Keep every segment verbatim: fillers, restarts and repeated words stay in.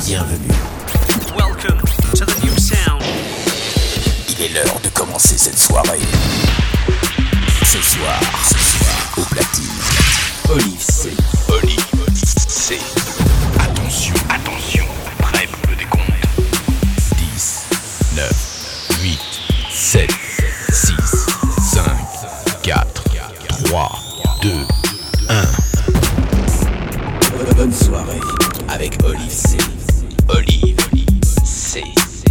Bienvenue. Welcome to the new sound. Il est l'heure de commencer cette soirée. Ce soir, ce soir, au platine, Olive C. Olive C. Attention, attention, prêt pour le décompte. dix, neuf, huit, sept, six, cinq, quatre, trois, deux, un. Bonne soirée avec Olive C. Olive C.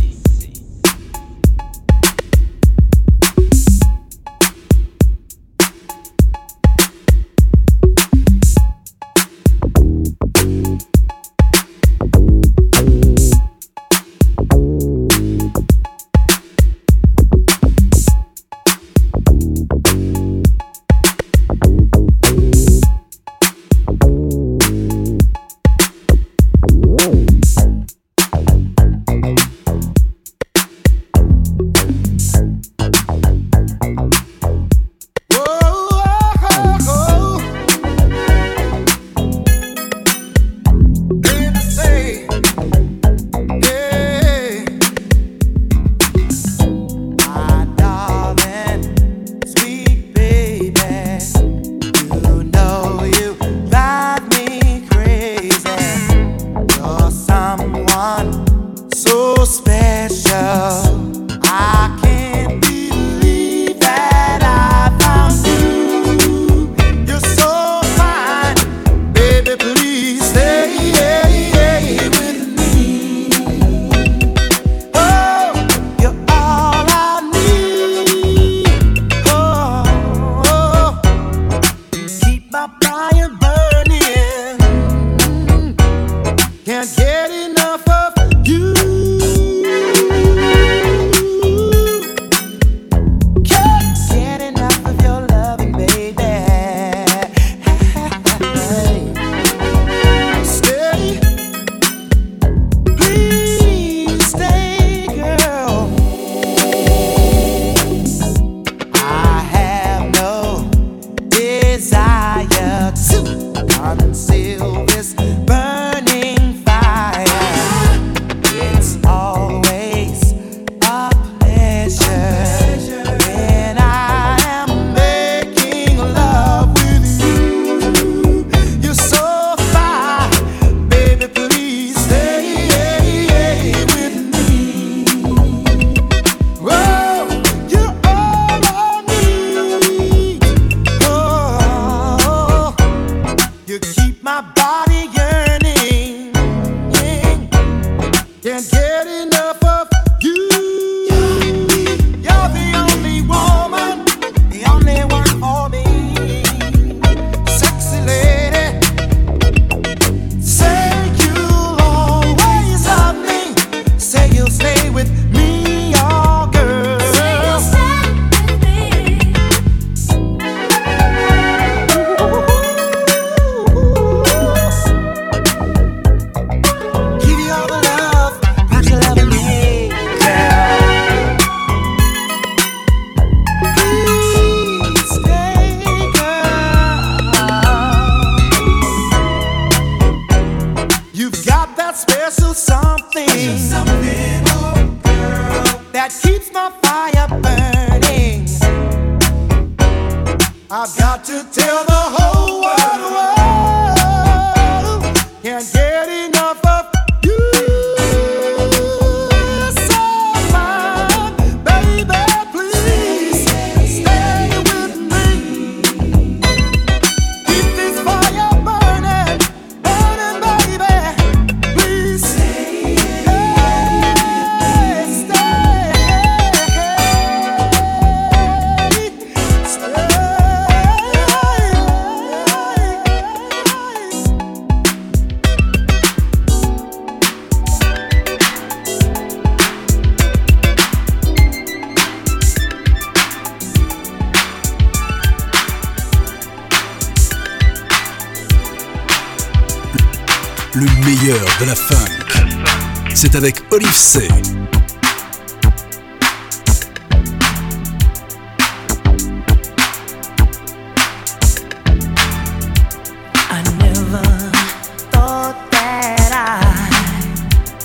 Le meilleur de la funk, c'est avec Olive C. I never thought that I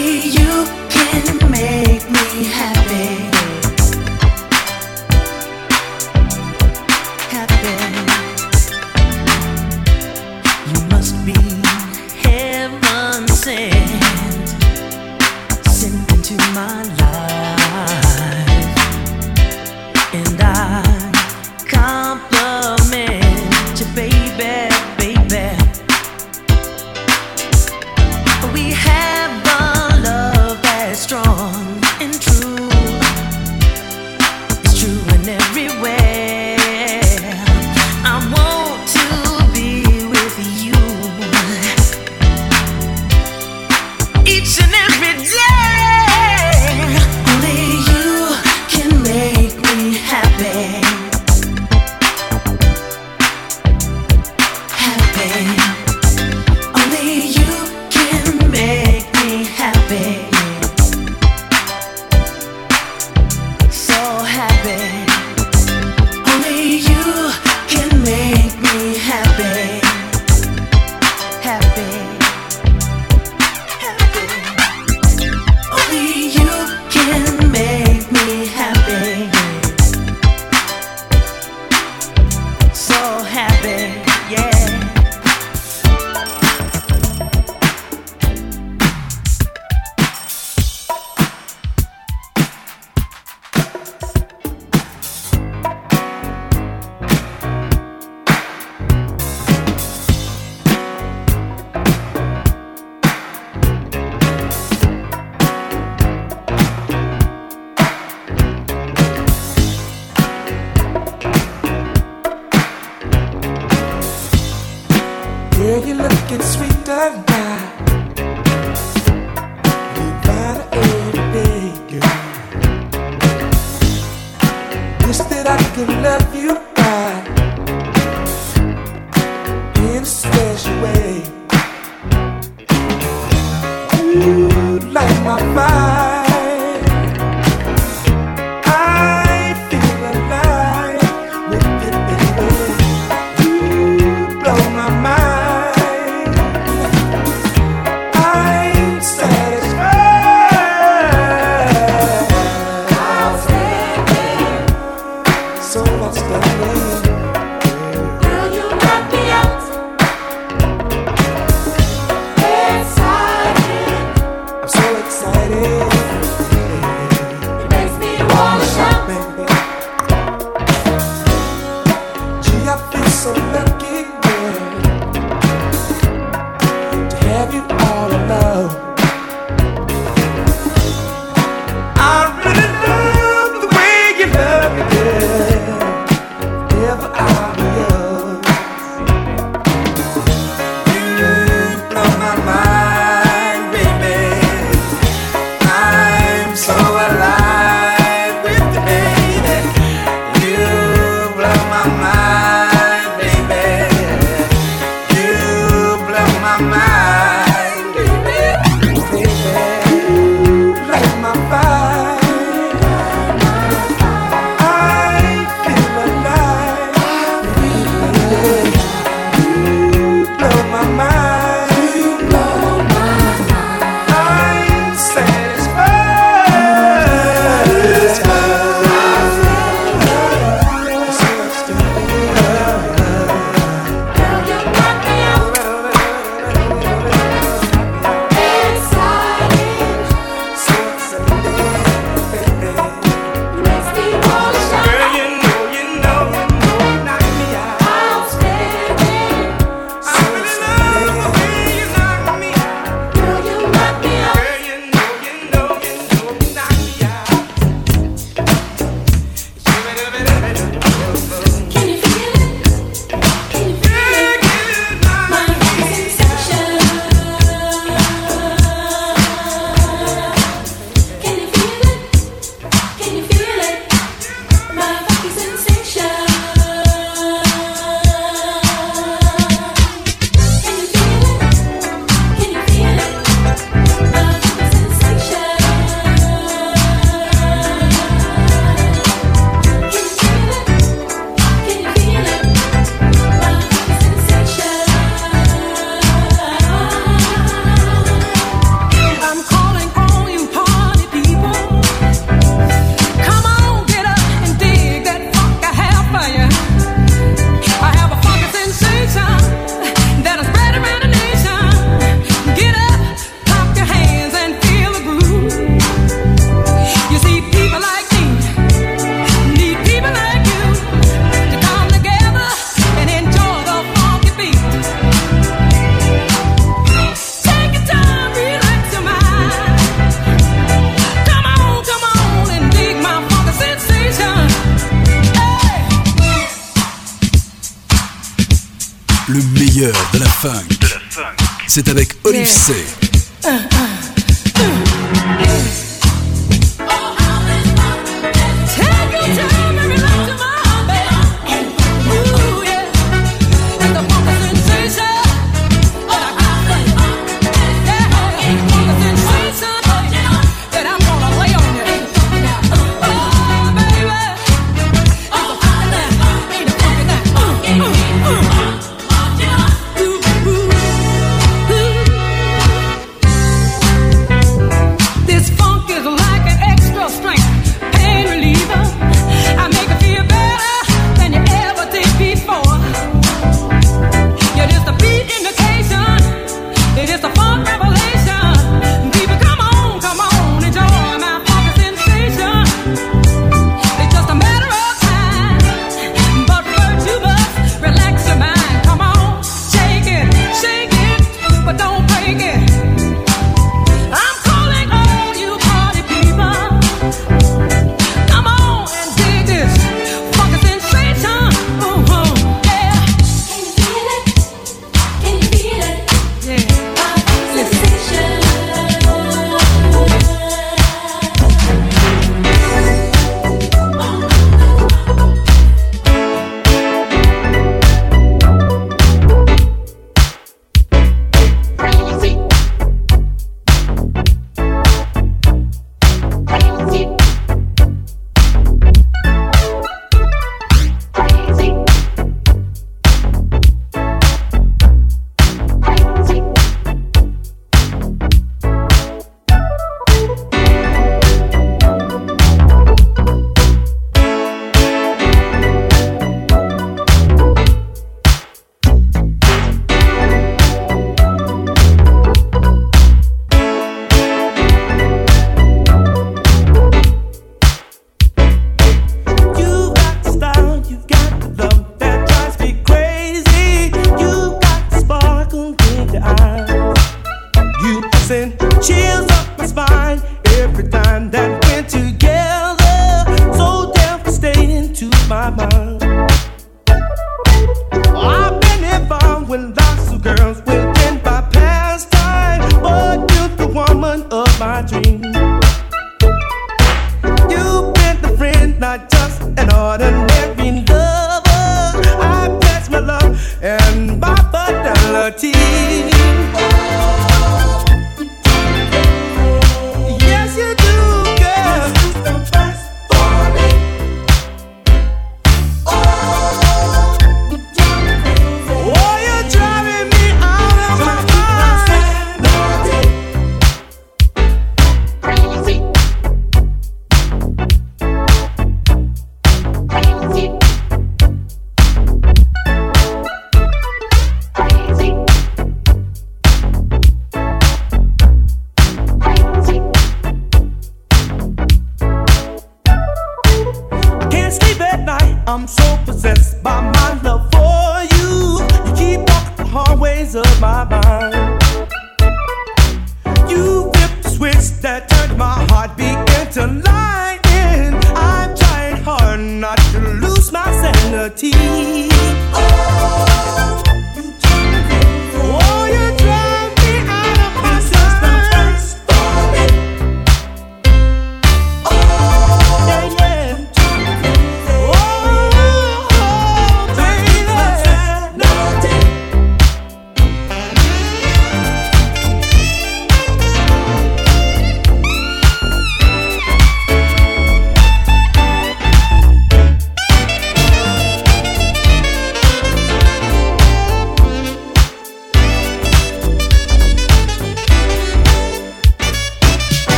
Girl, you're looking sweet tonight. You find it every day, girl. Wish that I could love you right in a special way. You light my fire. Excited. meilleur de la funk. C'est avec Olive C. Uh, uh, uh, yeah.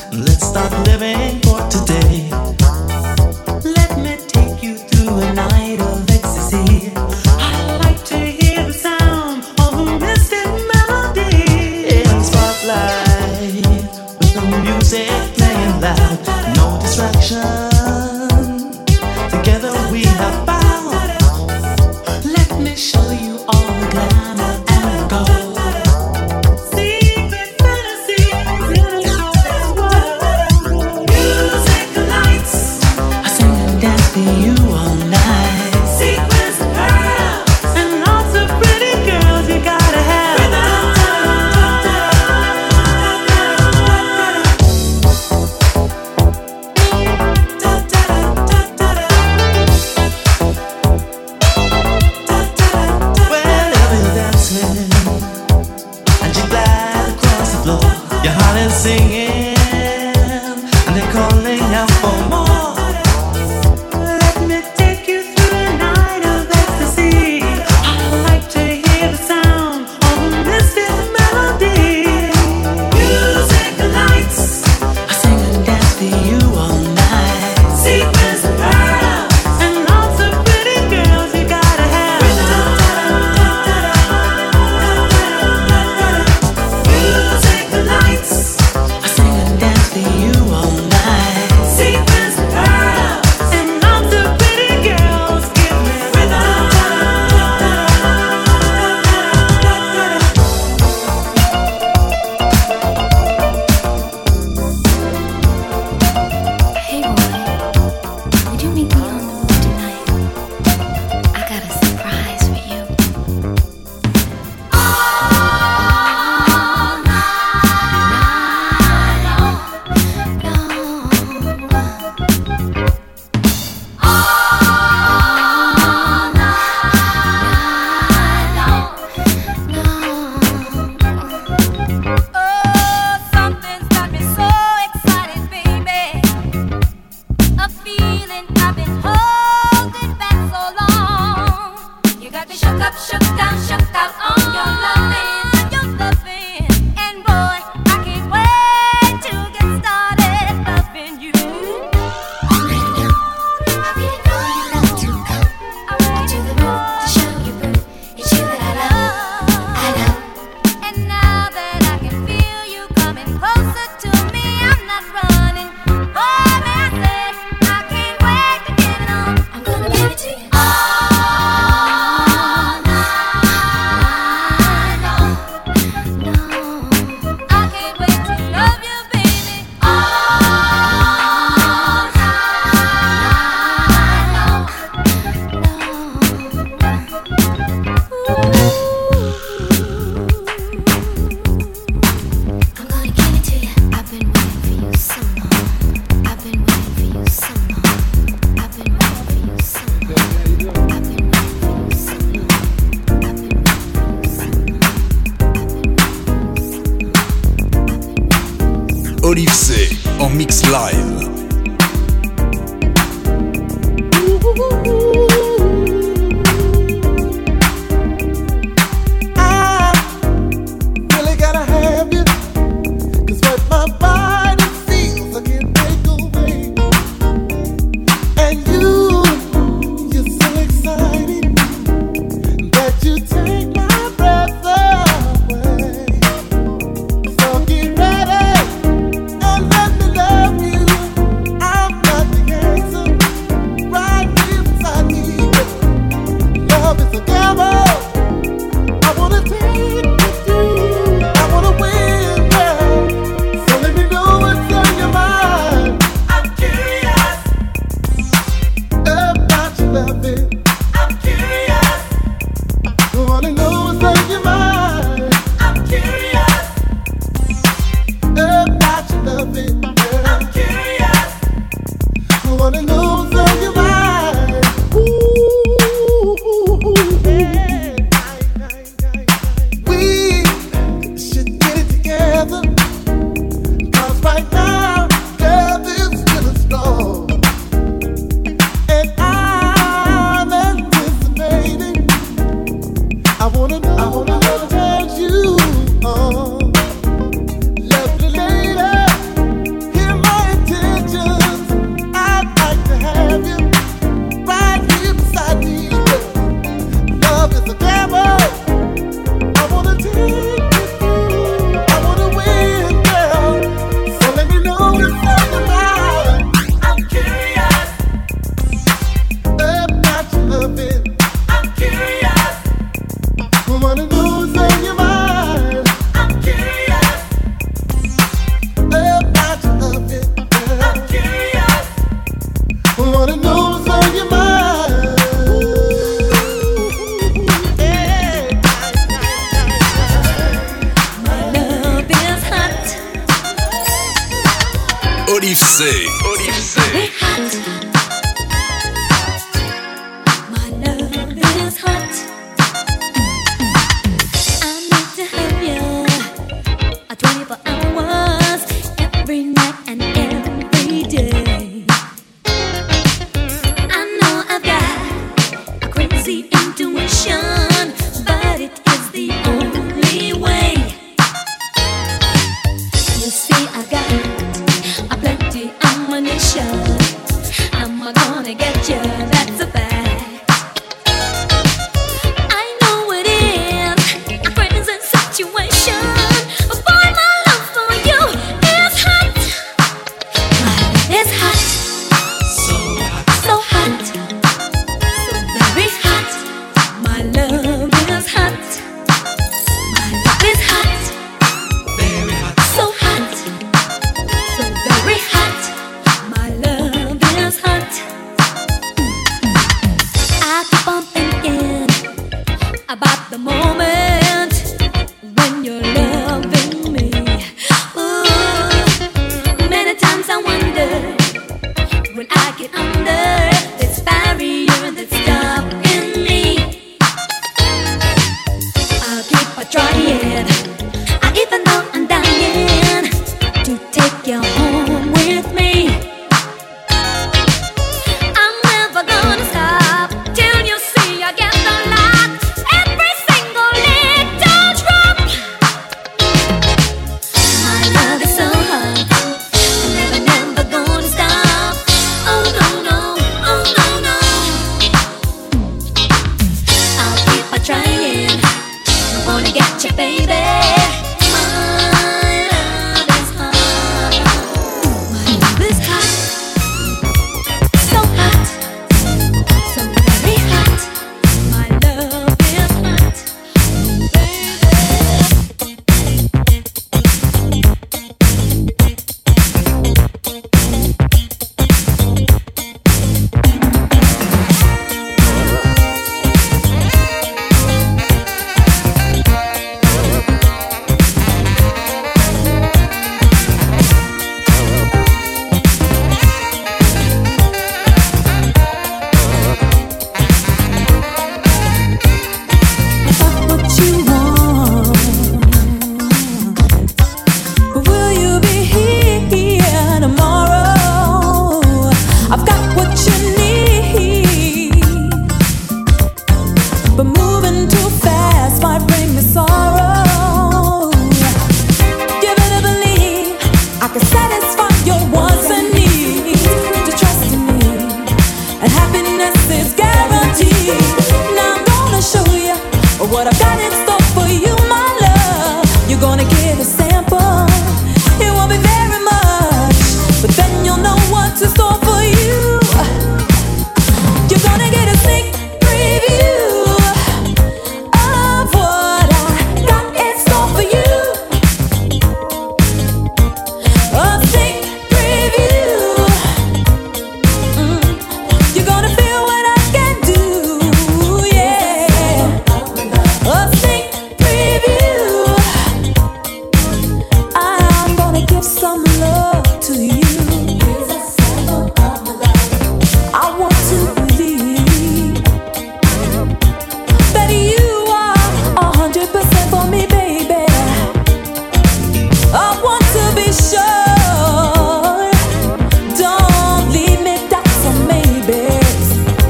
living for today. Let me take you through a night Olive C en mix live. Olive C. Olive C. My love is hot. I need to have you uh, twenty-four hours every night and every day. I know I've got a crazy intuition, but it is the only way. You see, I got a plenty ammunition. Am I gonna get you? That's a fact. I know it is a crazy situation, but boy, my love for you is hot. My love is hot, so hot, so hot, so very hot. My love is hot. My love is hot, very hot, so hot, so very hot. My love is hot. I keep on thinking about the moment when you're loving me. Ooh, many times I wonder when I get under this barrier that's stopping me. I'll keep on trying, I even though I'm dying to take you home with me. I'm never gonna stop till you see I get the lot. Every single little drop. My love is so hot, I'm never, never gonna stop. Oh no, no, oh no, no. I'll keep on trying, I wanna get you, baby. My love is hot. My love is hot, so hot, so very hot. My love is hot, baby. for you, my love. You're gonna get a sample. It won't be very much, but then you'll know what's in store for you. You're gonna get a sneak preview of what I got in store for you. A sneak preview. Mm. You're gonna feel what I can do, yeah. A sneak preview. I'm gonna give some love to you. I want to believe that you are a hundred percent for me, baby. I want to be sure. Don't leave me doubts or maybes.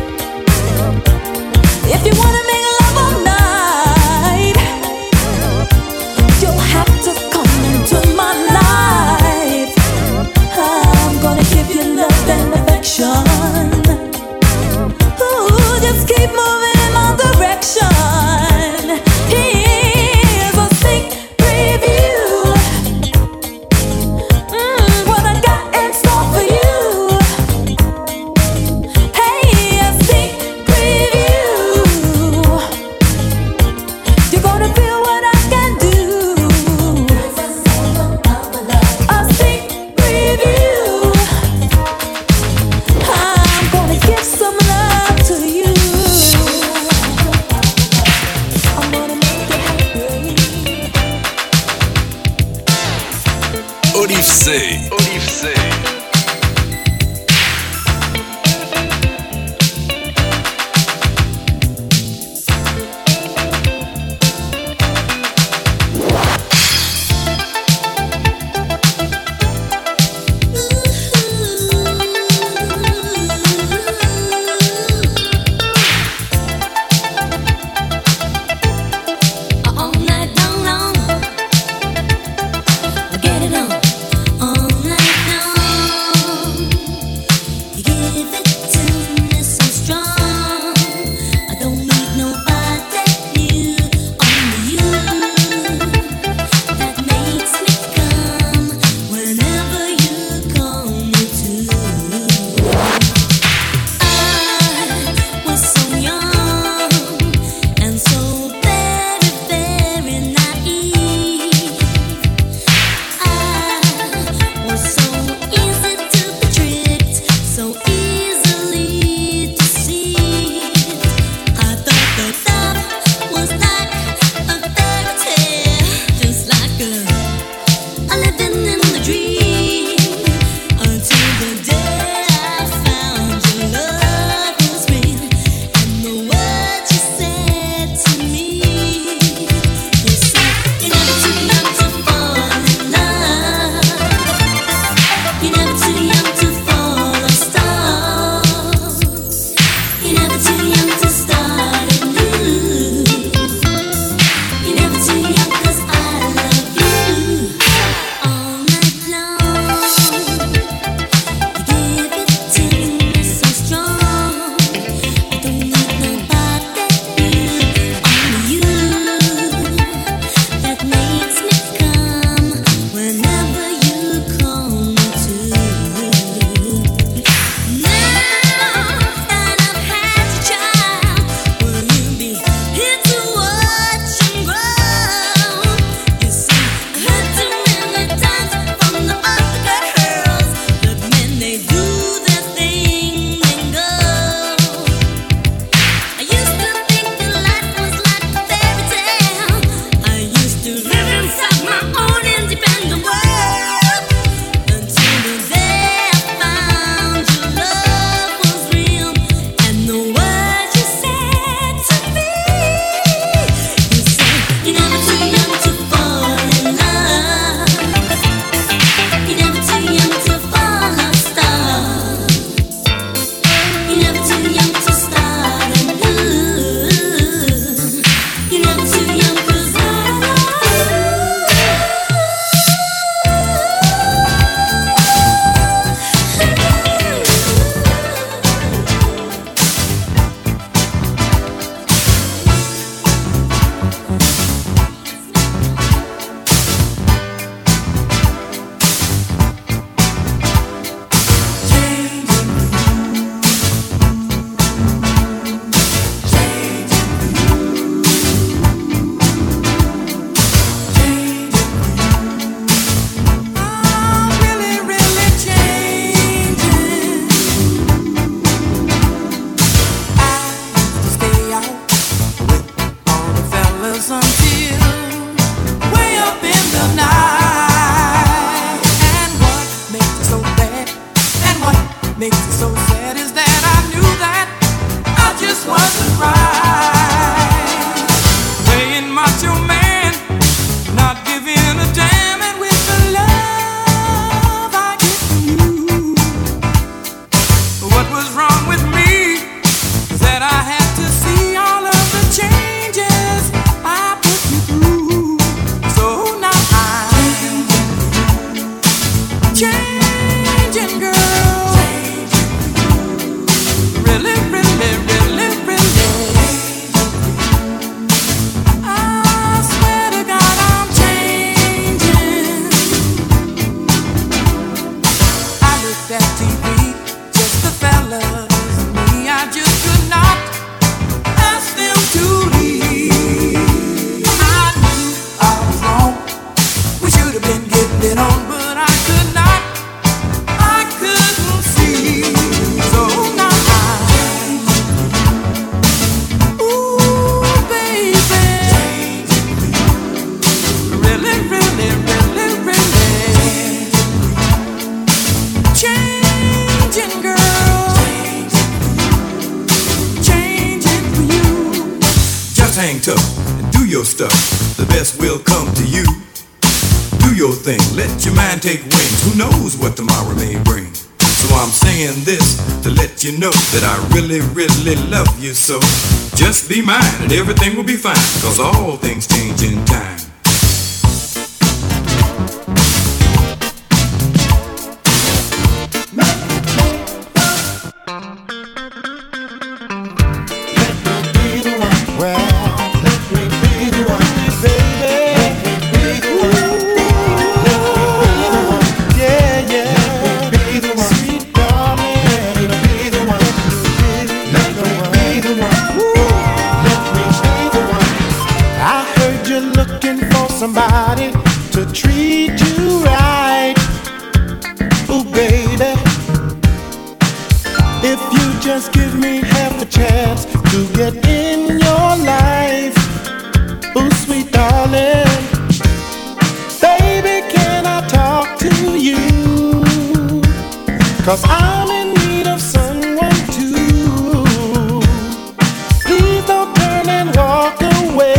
If you wanna make love all night, you'll have to come into my life. I'm gonna give you love and affection. Ooh, just keep moving in my direction. Here's a sneak preview. Mm, what I got in store for you. Hey, a sneak preview. You're gonna feel what I can do. A sneak preview. I'm gonna give some love to you. I'm gonna make you happy. Olive C. Olive C. All night long, long. Get it on. All night macho man, not giving a damn, and with the love I get from you. What was wrong with me is that I had to see all of the changes I put you through. So now I'm changing, girl. Really, really, really, really. I swear to God I'm changing. I looked at T V, just the fellas and me. I just could not ask them to leave. I knew I was wrong. We should have been getting it on, but I could not. I couldn't see. So now I'm, ooh, baby, really, really, really, really changing, girl, changing for you. Just hang tough and do your stuff. The best will come to you. Do your thing, let your mind take wings. Who knows what tomorrow may bring? So I'm saying this to let you know that I really, really love you so. Just be mine and everything will be fine, cause all things change in time. Somebody to treat you right. Ooh, baby, if you just give me half a chance to get in your life. Ooh, sweet darling, baby, can I talk to you? Cause I'm in need of someone too. Please don't turn and walk away,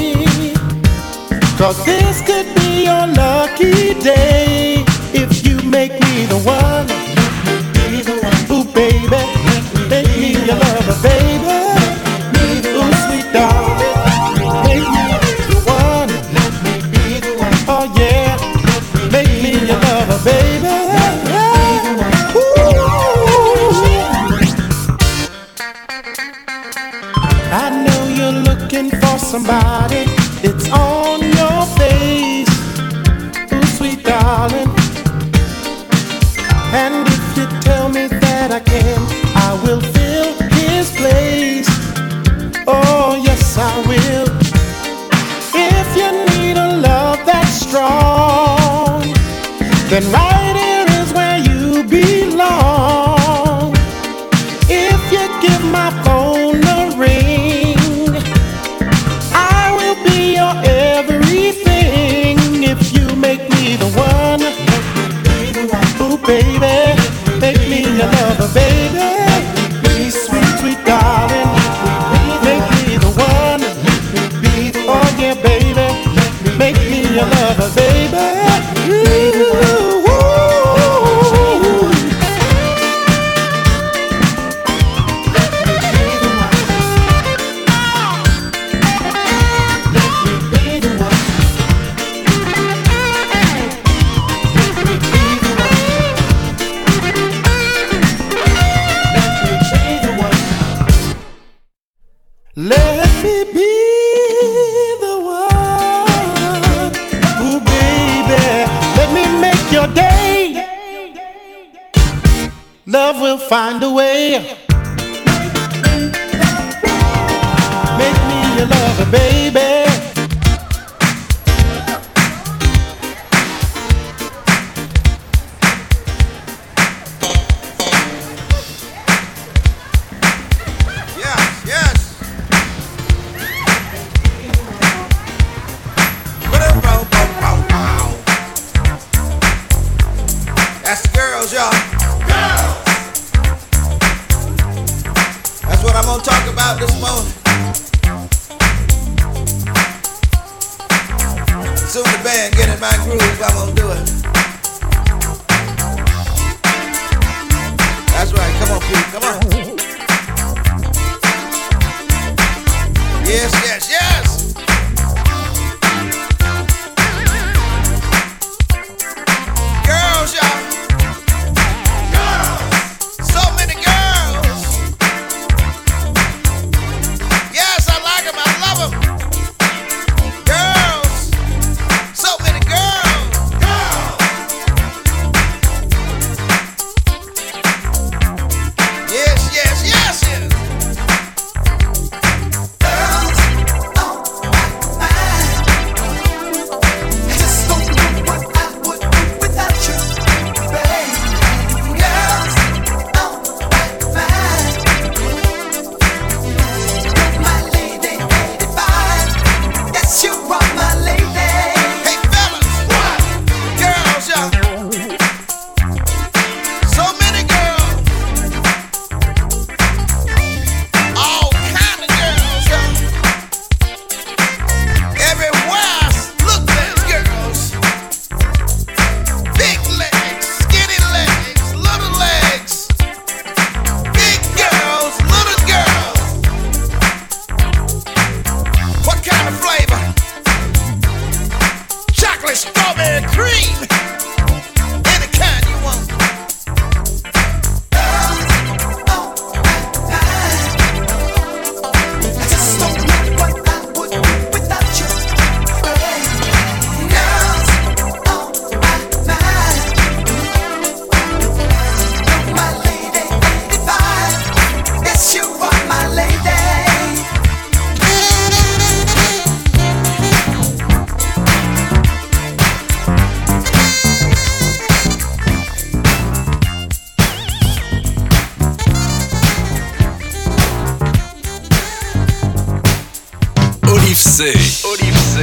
cause this could be your lucky day if you make me the one. Ooh, baby, make me your lover, baby. Ooh, sweet darling, make me the one. Oh yeah, make me your lover, baby. Ooh. I know you're looking for somebody. It's on your face, ooh, sweet darling. And if you tell me that I can, I will fill his place. Oh, yes, I will. If you need a love that's strong, then right here is where you belong. If you give my phone a ring, I will be your everything. If you make me the one, ooh, baby, make me your lover, baby. Sweet, sweet darling, make me the one. Oh yeah, baby, make me your lover, baby. Ooh. Let me be the one. Ooh, baby, let me make your day. Love will find a way. Make me your lover, baby. soon the band get in my groove, I'm gonna do it. That's right, come on, Pete, come on. Yes, yes, yes. Girls, y'all. Girls. So many girls. Yes, I like them, I love them. Girls. So many girls. Girls. Yes, yes, yes, yes. Girls on my mind. I just don't know what I would do without you, babe. Girls on my mind. You're my lady, eighty-five. Yes, you are my lady. Hey, fellas, what? Girls, y'all. So many girls. All kind of girls, y'all. Everywhere I look, there's girls. Big legs, skinny legs, little legs. Big girls, little girls. What kind of flavor? Chocolate, strawberry, cream. Any kind you want. Girls on my mind. I just don't know what I would do without you, babe. Girls on my mind. You're my lady, eighty-five. Yes, you are my lady. Olive C. Olive C.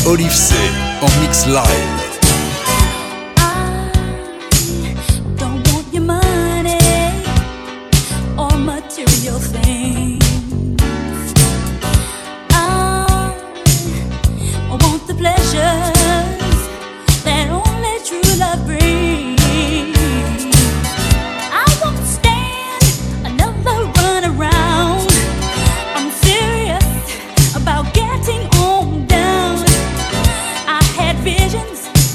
Olive C en mix live. Don't want your money or material things. I want the pleasures that only true love brings. I won't stand another run around. I'm serious about getting on down. I had visions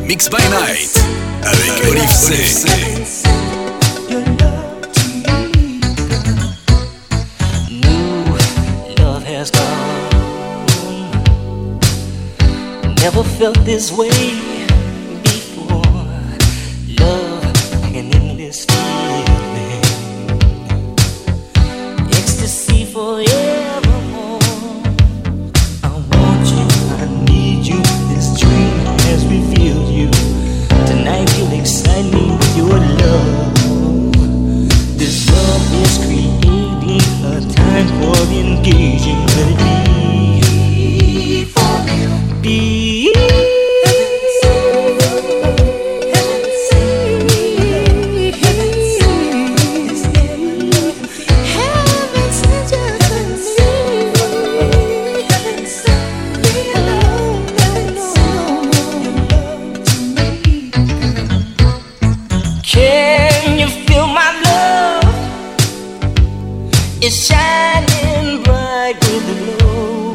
Mix by Night avec Olive C. Never felt this way before. Love, an endless feeling, ecstasy forevermore. I want you, I need you. This dream has revealed you. Tonight you'll excite me with your love. This love is creating a time for engaging. Let it be for me. Be it's shining bright with the glow.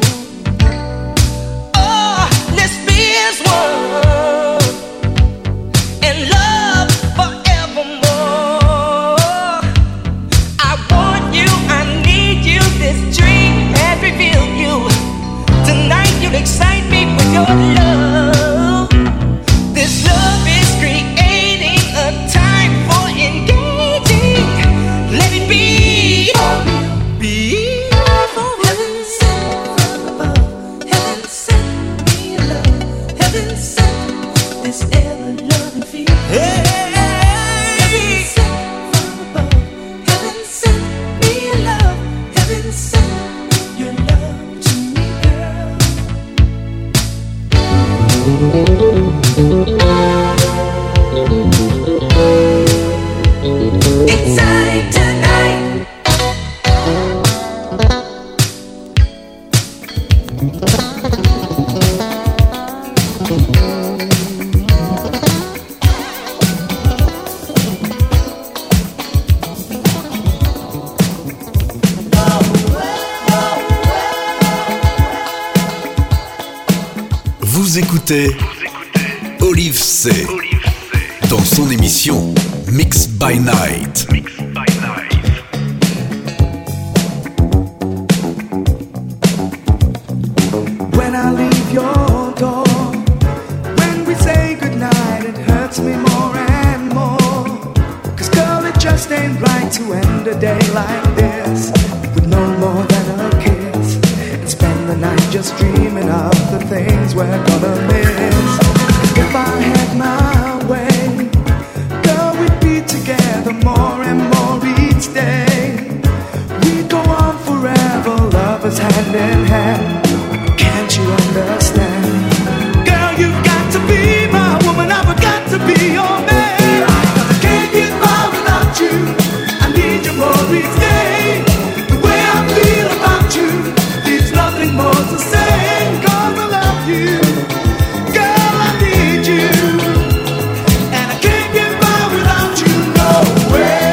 Oh, let's be as one in love forevermore. I want you, I need you. This dream has revealed you. Tonight you'll excite me with your love. This love is creating a time for engaging. Let it be. Vous écoutez Olive C dans son émission Mix by Night. When I leave your door, when we say goodnight, it hurts me more and more. Cause girl, it just ain't right to end a day like this with no more than a kiss, and spend the night just dreaming of the things we're gonna miss. If I had my way, girl, we'd be together more and more each day. We'd go on forever, lovers hand in hand. Can't you understand? Girl, you've got to be my woman, I've got to be your man. Cause I can't get by without you, I need you more each day. The way I feel about you, there's nothing more to say. Cause I love you, girl, I need you, and I can't get by without you, no way.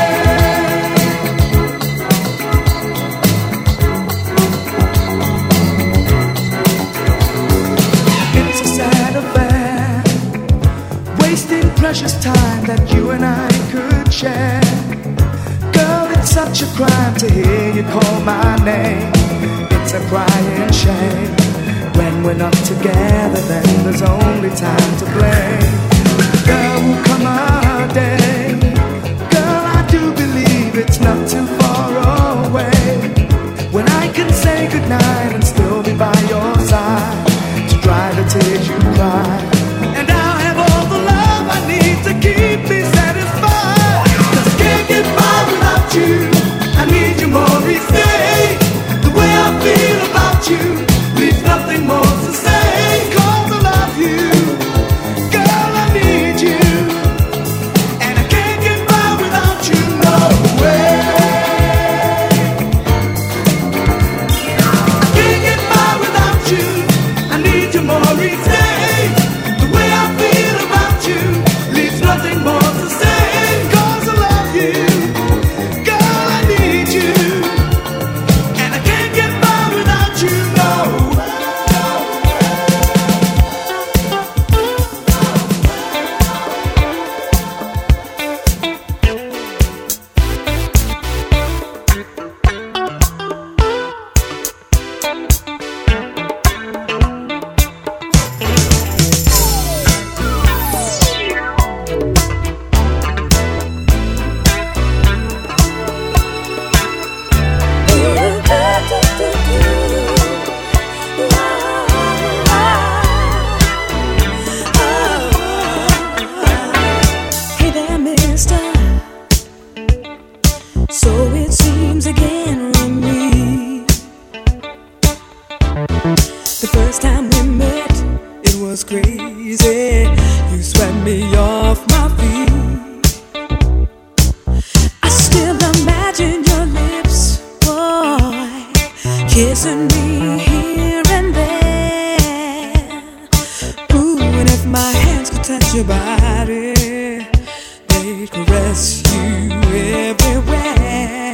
It's a sad affair, wasting precious time that you and I could share. Girl, it's such a crime to hear you call my name. It's a crying shame. When we're not together, then there's only time to blame. There will come a day, girl, I do believe it's not too far away, when I can say goodnight and still be by your side to dry the tears you cry. And I'll have all the love I need to keep me satisfied. Cause I can't get by without you, I need you more each day. The way I feel about you leaves nothing more to say. Cause I love you, me off my feet. I still imagine your lips, boy, kissing me here and there. Ooh, and if my hands could touch your body, they'd caress you everywhere.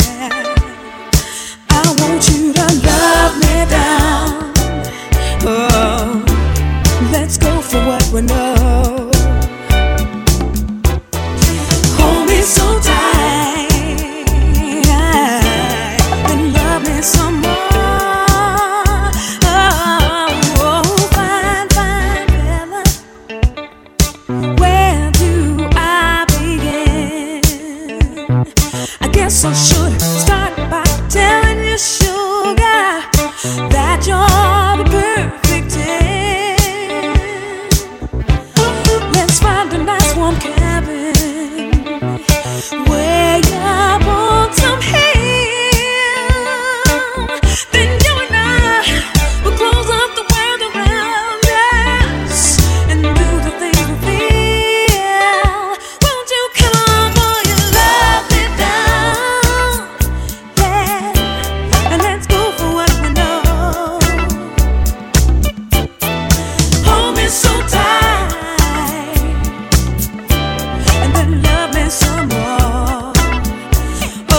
I want you to love me down. Oh, let's go for what we know. Hold me so tight and love me some more. Oh, fine, fine fella, where do I begin? I guess I should start by telling you, sugar, that you're the perfect ten. Let's find a nice warm cabin way up on some hill. Then you and I will close up the world around us and do the things we feel. Won't you come on, boy, and love me down? Yeah, and let's go for what we know. Hold me so tight and then love me some more. Oh,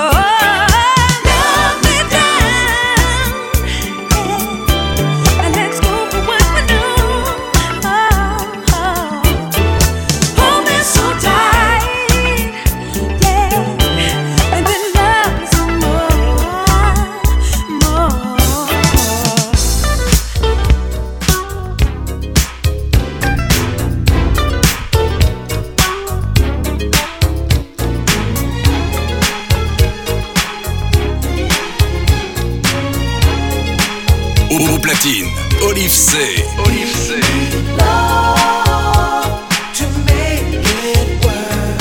love me down, yeah, and let's go for what we know. Oh, hold me so tight, yeah, and then love me some more, more. Au platine, Olive C. Olive C. Love to make it work.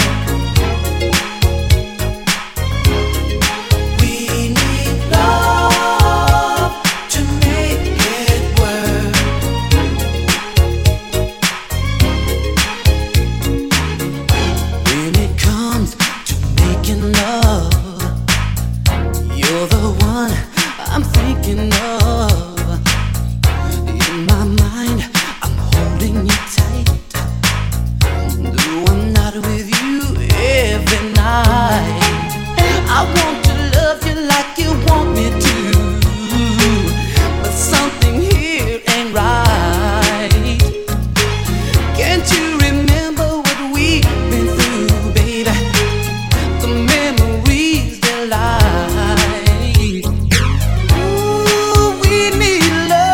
We need love to make it work. When it comes to making love, you're the one I'm thinking of. In my mind, I'm holding you tight. Though I'm not with you every night, I want to love you like you want me to. But something here ain't right. Can't you remember what we've been through, baby? The memories they lie. Ooh, we need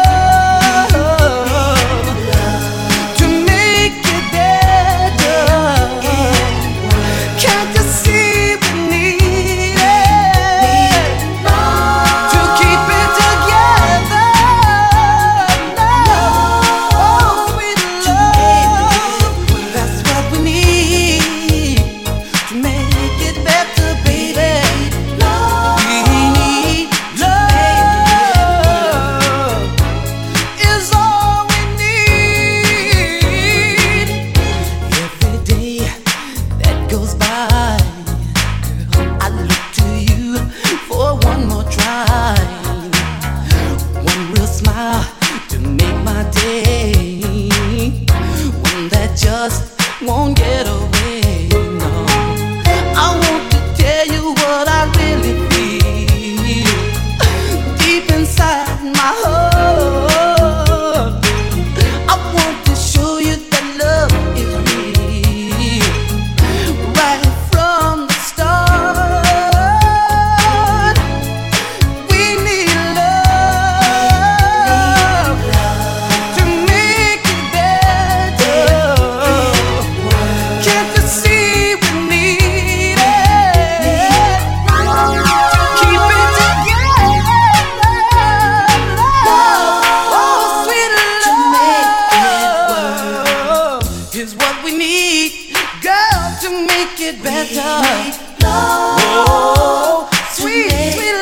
love to make it better. Can't you see we need it to keep it together? Oh, sweet love, that's what we need to make it better, baby. We need love is all we need. Every day that goes by, girl, I look to you for one more try. One real smile to make my day. One that just won't get away, no. I want to tell you what I really feel deep inside my heart. I want to show you that love is real right from the start. We need love to make it better. Can't you see we need it to keep it together? Oh, sweet love is what we need, girl, to make it better. Oh, sweet, sweet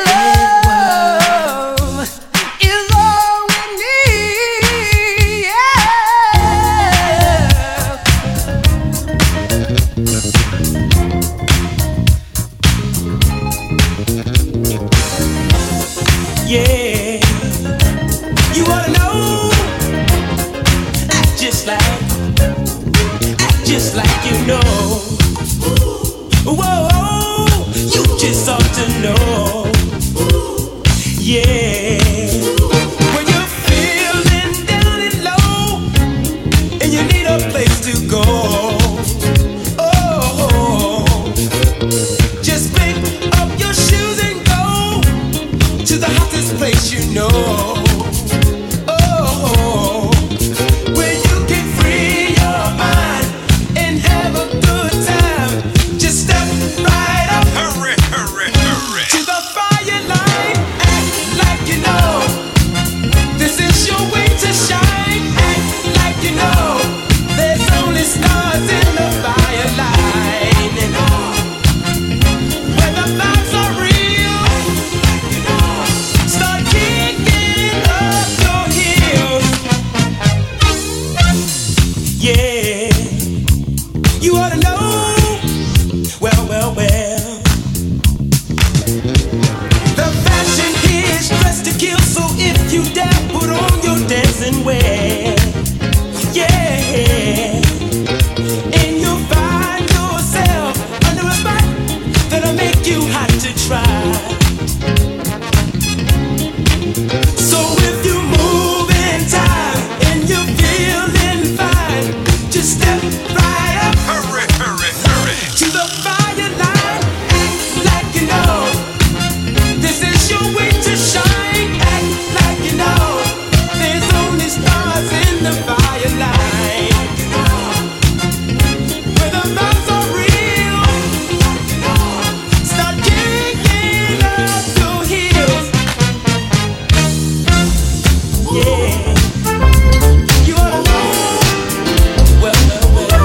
love is all we need. Yeah. just like you know. Whoa, you just ought to know. Yeah. When you're feeling down and low and you need a place to go, oh, just pick up your shoes and go to the hottest place you know. Oh, where you can free your mind and have a good time. Just step right up, hurry, hurry, hurry, to the fire line. Act like you know this is your way to shine. Act like you know there's only stars in the fire line. And oh, where the vibes are real, start kicking up your heels. Yeah, you ought to know. Well, well, well. The fashion here is dressed to kill, so if you dare, put on your dancing wear. Yeah, and you'll find yourself under a spot that'll make you hot to try. So if you move in time and you're feeling fine, just step right up, hurry, hurry, hurry, to the fire line. Act like you know this is your way to shine. Act like you know there's only stars in the fire line. Where the vibes are real, start kicking up your heels. Yeah, you ought to know. Well, well, well.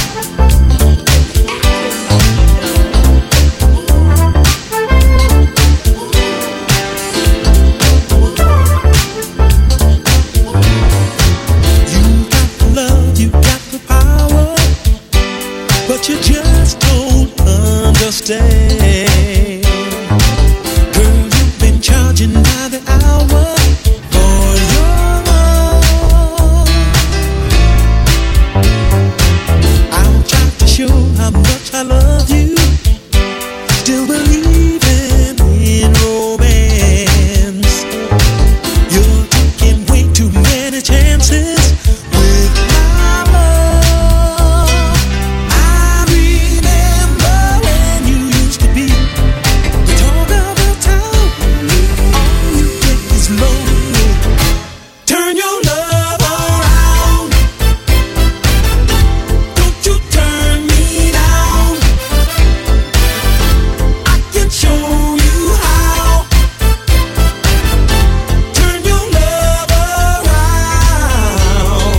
You got the love, you got the power, but you just don't understand. Girl, you've been charging by the hour for your love. I'll try to show how much I love you, still believing in romance. You're taking way too many chances with my love. I remember when you used to be the talk of the town. All you get is lonely. Turn your love around. Don't you turn me down. I can show you how. Turn your love around.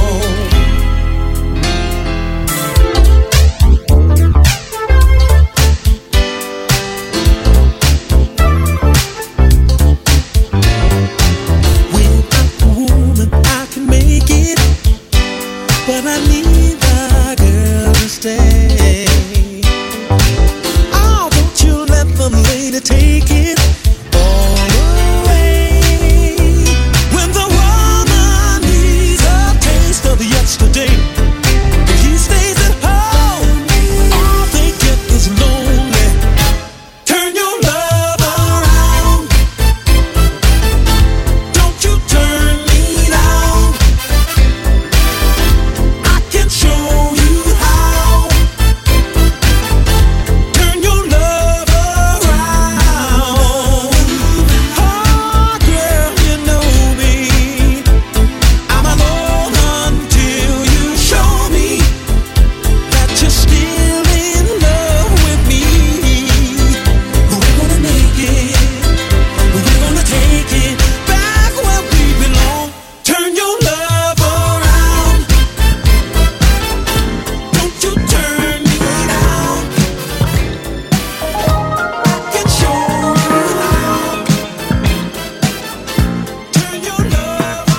Without the woman, I can make it, but I need the girl to stay. Oh, don't you let the lady take it all away. When the woman needs a taste of yesterday, and he stays at home, all they get is lonely. Turn your love around. Don't you turn me down. I can show you how. Turn your love around. Oh, girl, you know me. I'm alone until you show me that you're still in love with me. We're gonna make it. We're gonna take it back where we belong. Turn your love around. Don't you turn me down. Can show you how. Turn your love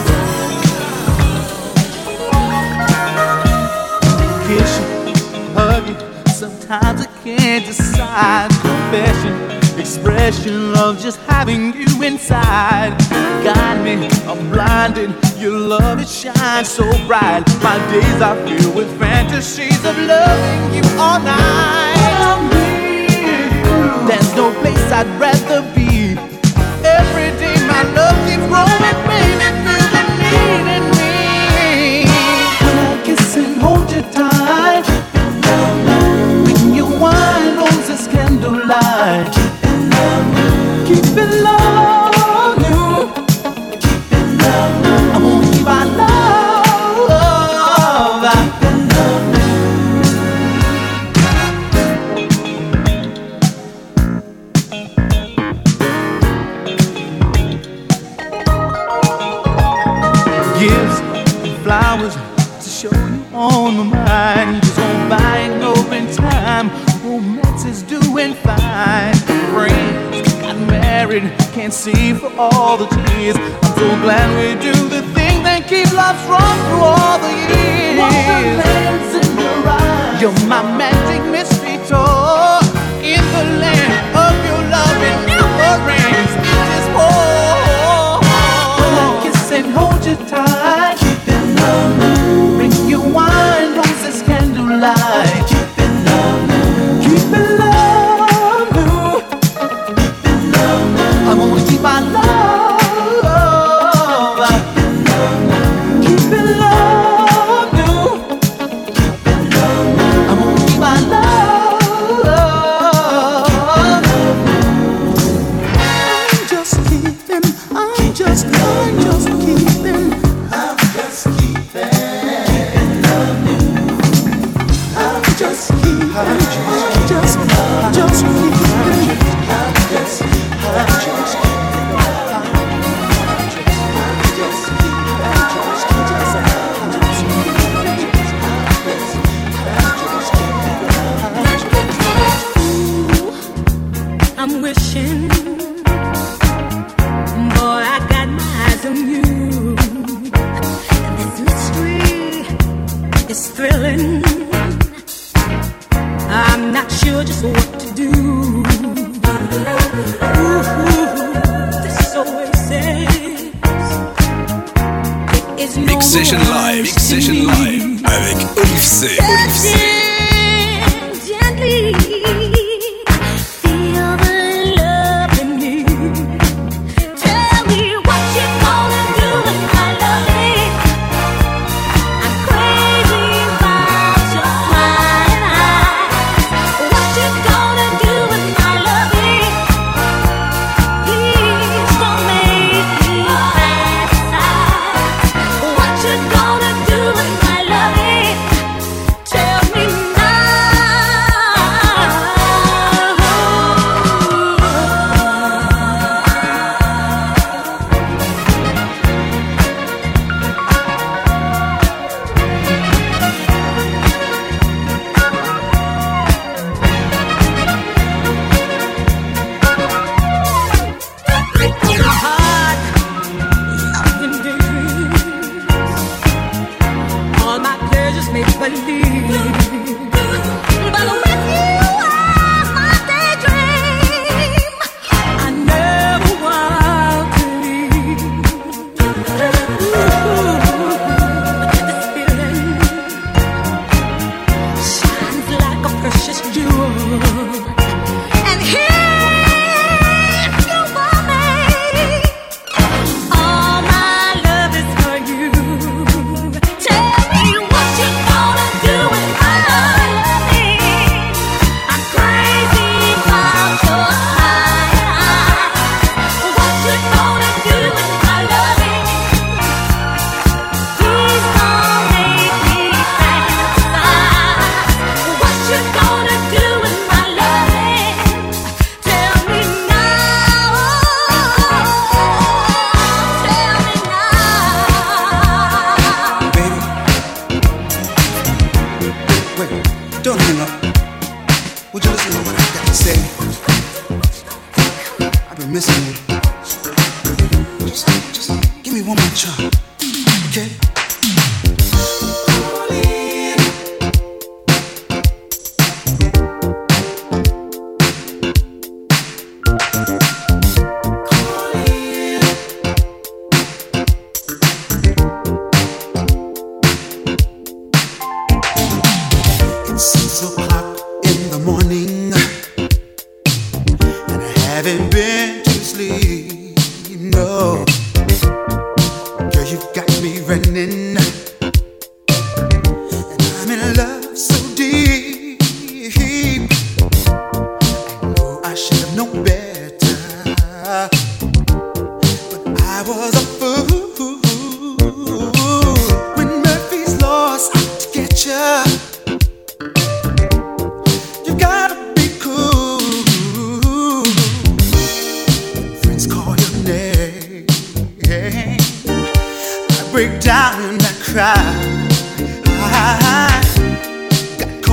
around. Kiss you, hug you. Sometimes I can't decide. Confession, expression of just having you inside. Got me, I'm blinded, your love it shines so bright. My days are filled with fantasies of loving you all night. There's no place I'd rather be. Every day my love keeps growing, baby, feel the need in me. When I kiss and hold you tight, when you wine roses candlelight, keep it love you. I won't keep our love. Gifts and flowers to show you on my mind. Just on buying over in time. Romance is doing fine. Friends got married, can't see for all the tears. I'm so glad we do the thing that keep love strong through all the years. Wonderland's in your eyes. You're my magic mystery tour. In the land of your love, it never ends. It just pours. When I kiss and hold you tight, keep it love. Bring you wine, roses, candlelight. Keep it love. Keep it love. Keep it love. I wanna keep my love. Keep it love. Keep it love. I wanna keep my love. I'm just keeping. I'm just, I'm just keeping. I'm just keeping. I'm just keeping. I'm just, just, just keeping. I'm just, I'm just keeping. I'm wishing, boy, I got my eyes on you. And this mystery is thrilling. I'm not sure just what to do. Ooh, this oasis is no Mix Session Live, Mix Session Live avec Olive C. Olive C. Gently.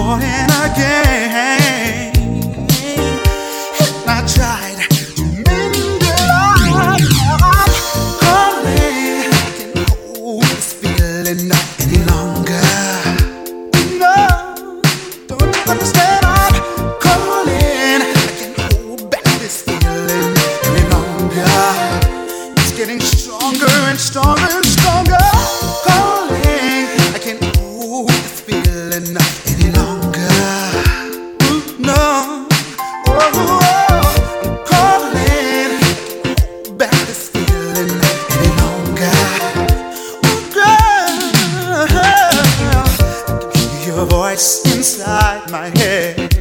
caught in a game. And I tried to mend it up. Calling, I can't hold this feeling up any longer. No, don't you understand? I'm calling, I can't hold back this feeling any longer. It's getting stronger and stronger and stronger. Calling, I can't hold this feeling up any longer. Ooh, no, oh, oh, I'm calling, I can't hold back this feeling any longer. Oh, girl, I can hear your voice inside my head.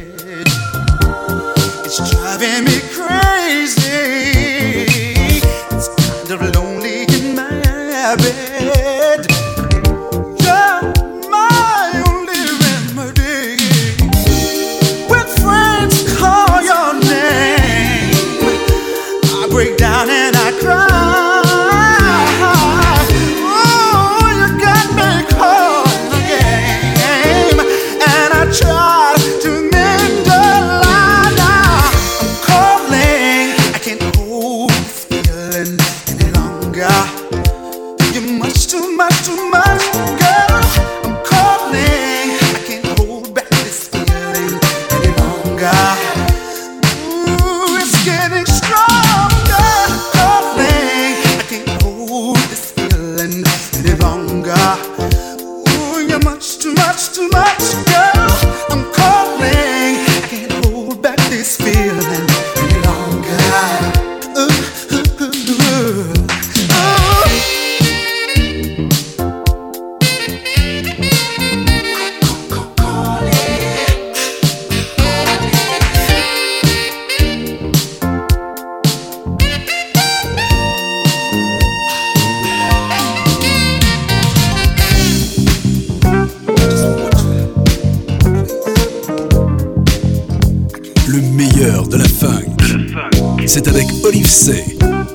It's driving me crazy. It's kind of lonely in my bed. You're my only remedy. When friends call your name, I break down and I cry. Oh, you got me caught in a game, and I try to mend the line. Now I'm calling, I can't hold this feeling any longer. You're much too much, too much, girl. I'm calling, I can't hold back this feeling any longer. Ooh, it's getting stronger. Calling, I can't hold this feeling any longer. Ooh, you're much too much, too much, girl. I'm calling, I can't hold back this feeling any longer. Ooh, ooh, ooh, ooh. Le meilleur de la funk, c'est avec Olive C.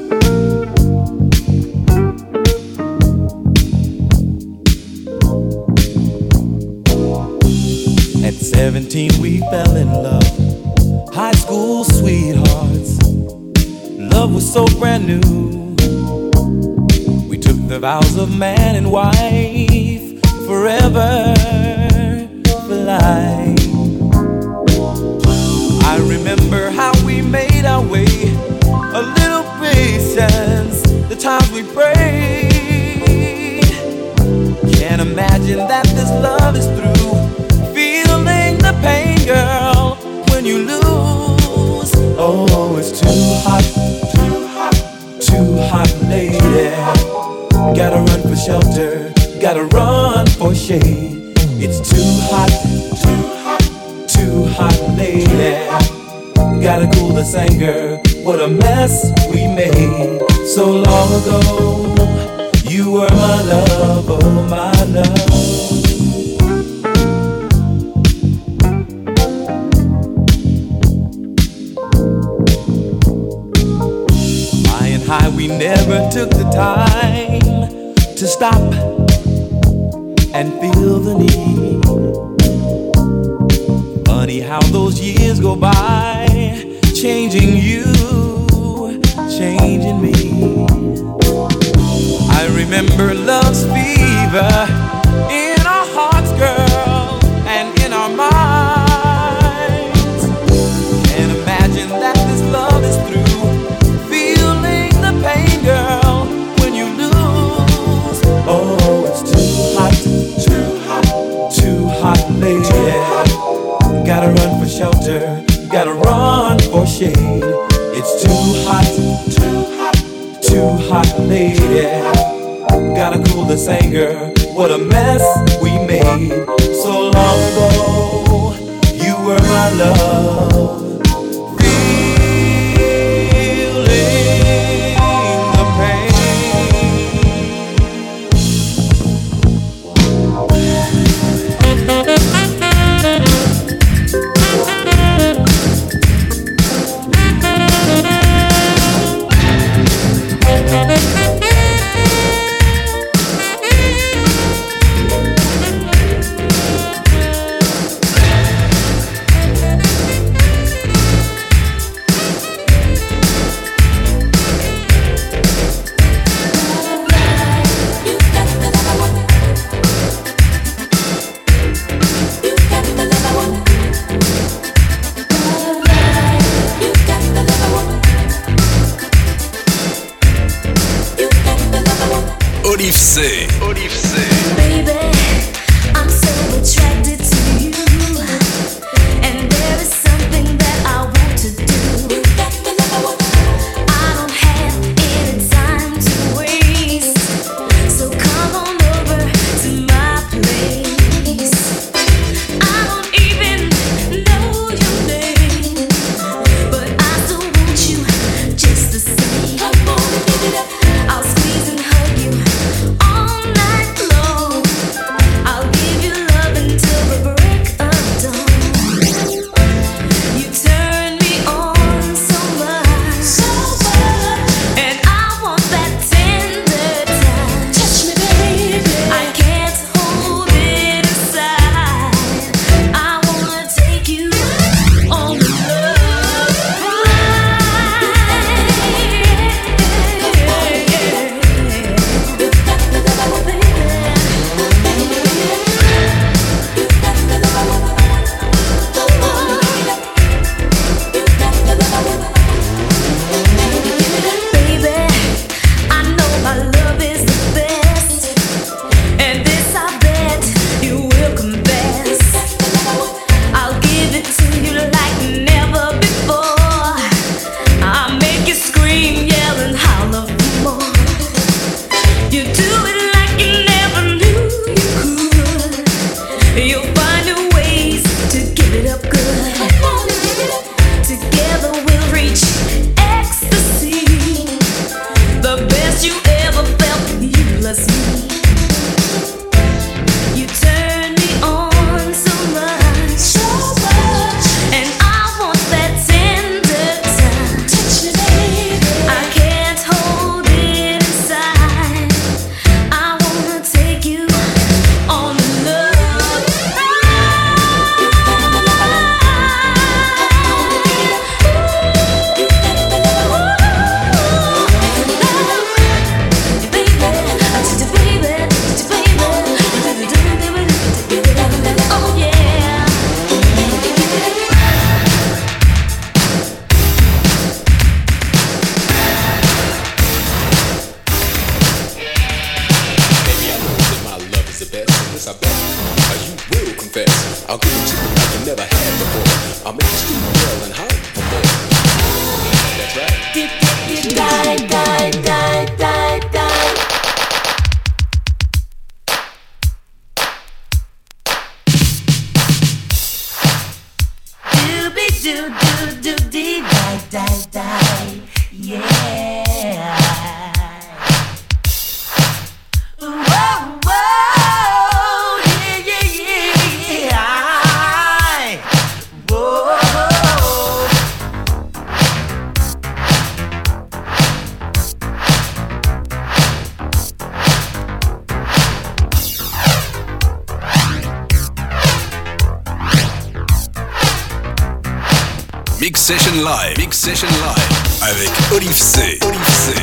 At seventeen we fell in love, high school sweethearts. Love was so brand new. We took the vows of man and wife, forever for life. I remember how we made our way, a little patience, the times we prayed. Can't imagine that this love is through. Feeling the pain, girl, when you lose. Oh, it's too hot, too hot, too hot, lady. Gotta run for shelter, gotta run for shade. It's too hot, too hot, too hot, lady. Gotta cool this anger, what a mess we made. So long ago, you were my love, oh my love. High, we never took the time to stop and feel the need. Funny how those years go by, changing you, changing me. I remember love's fever in our hearts, girl, and in our minds. Can't imagine that this love is through. Girl, when you lose, oh, it's too hot, too hot, too hot, lady. Gotta run for shelter, gotta run for shade. It's too hot, too hot, too hot, lady. Gotta cool this anger, what a mess we made. So long ago, you were my love. I'll give it to you like you never had before. I'll make you scream and yell and holler for more. That's right. Die, die, die, die, die. Doobie doo doo doo dee die, die, die. Yeah. Whoa, whoa, yeah, yeah, yeah. Whoa. Mix Session Live, Mix Session Live avec Olive C. Olive C.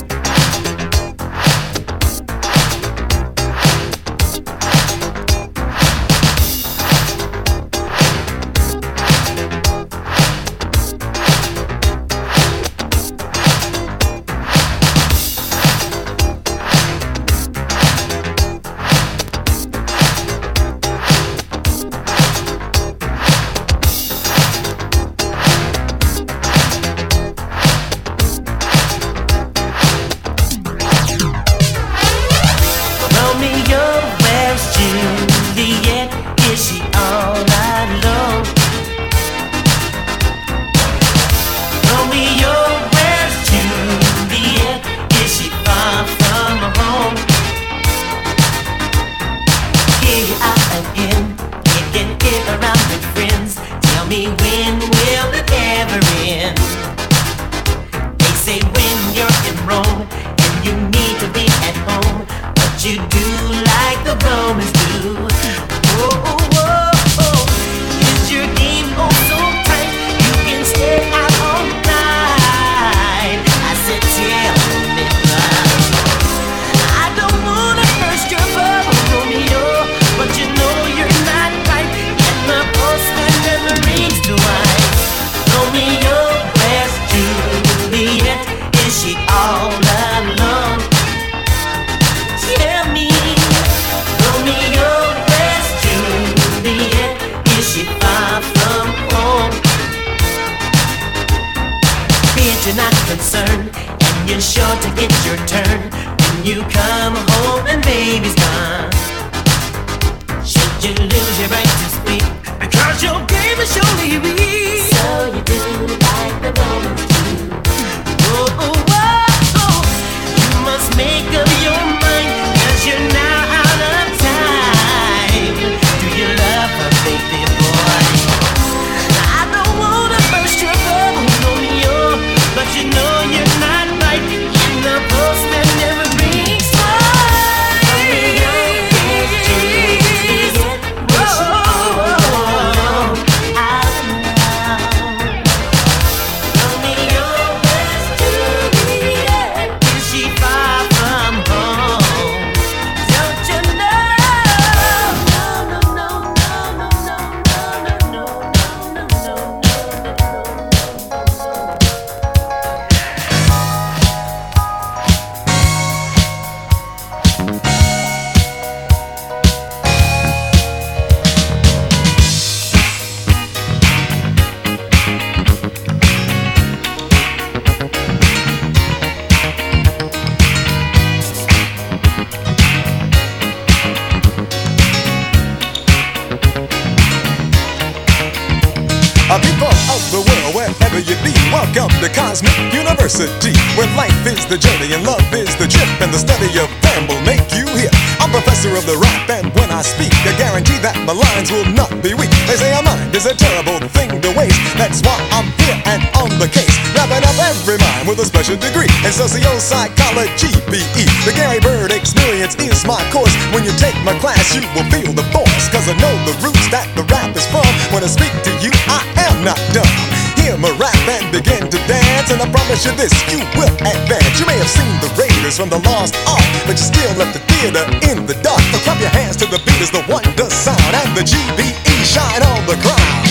People of the world, wherever you be, welcome to Cosmic University, where life is the journey and love is the trip, and the study of them will make you hip. I'm professor of the rap, and when I speak, I guarantee that my lines will not be weak. They say a mind is a terrible thing to waste. That's why I'm here and on the case, wrapping up every mind with a special degree in socio-psychology, B E. The Gary Bird experience is my course. When you take my class, you will feel the force, cause I know the roots that the rap is from. When I speak to you, I am not dumb. Hear my rap and begin to dance, and I promise you this, you will advance. You may have seen the Raiders from the Lost Ark, but you still left the theater in the dark. So clap your hands to the beat as the wonder sound, and the G B E shine on the crowd.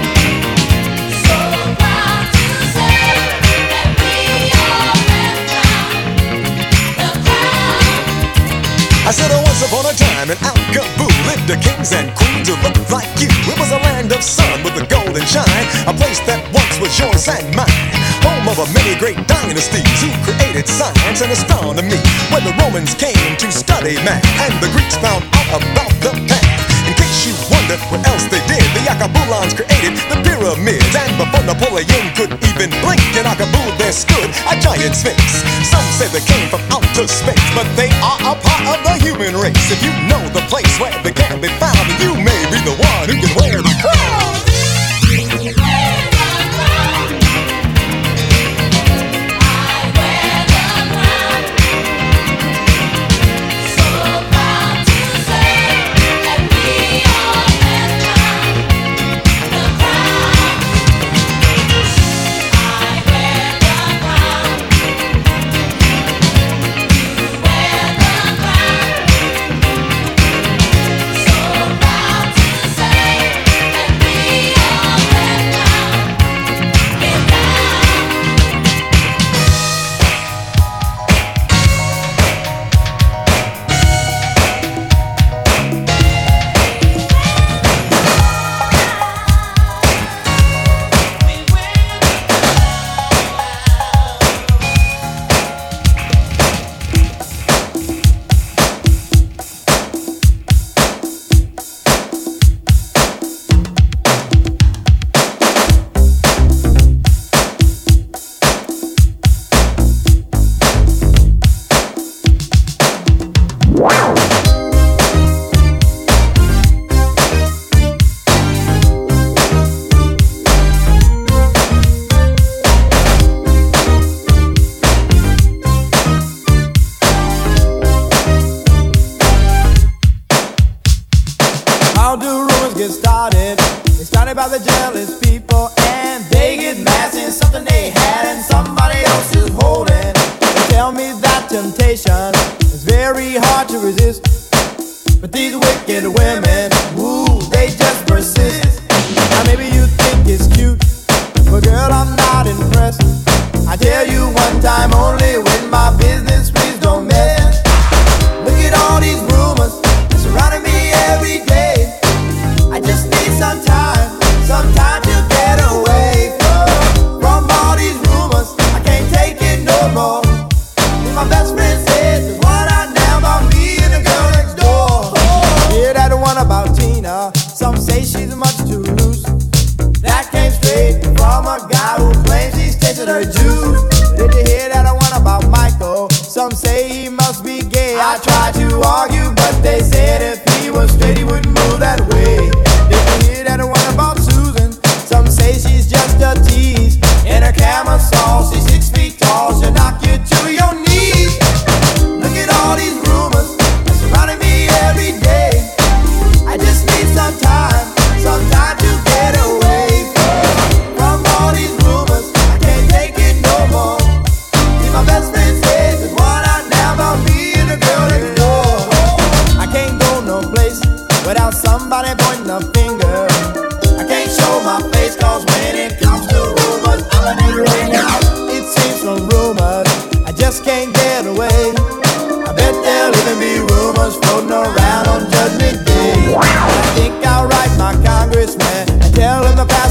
So proud to say that we are time in Al-Kabul lived the kings and queens who looked like you. It was a land of sun with a golden shine, a place that once was yours and mine. Home of a many great dynasties who created science and astronomy, where the Romans came to study math and the Greeks found out about the path. In case you wonder what else they did, the Akabulans created the pyramids, and before Napoleon could even blink, in Akabul there stood a giant sphinx. Some say they came from outer space, but they are a part of the human race. If you know the place where they can be found, you may be the one who can wear the crown.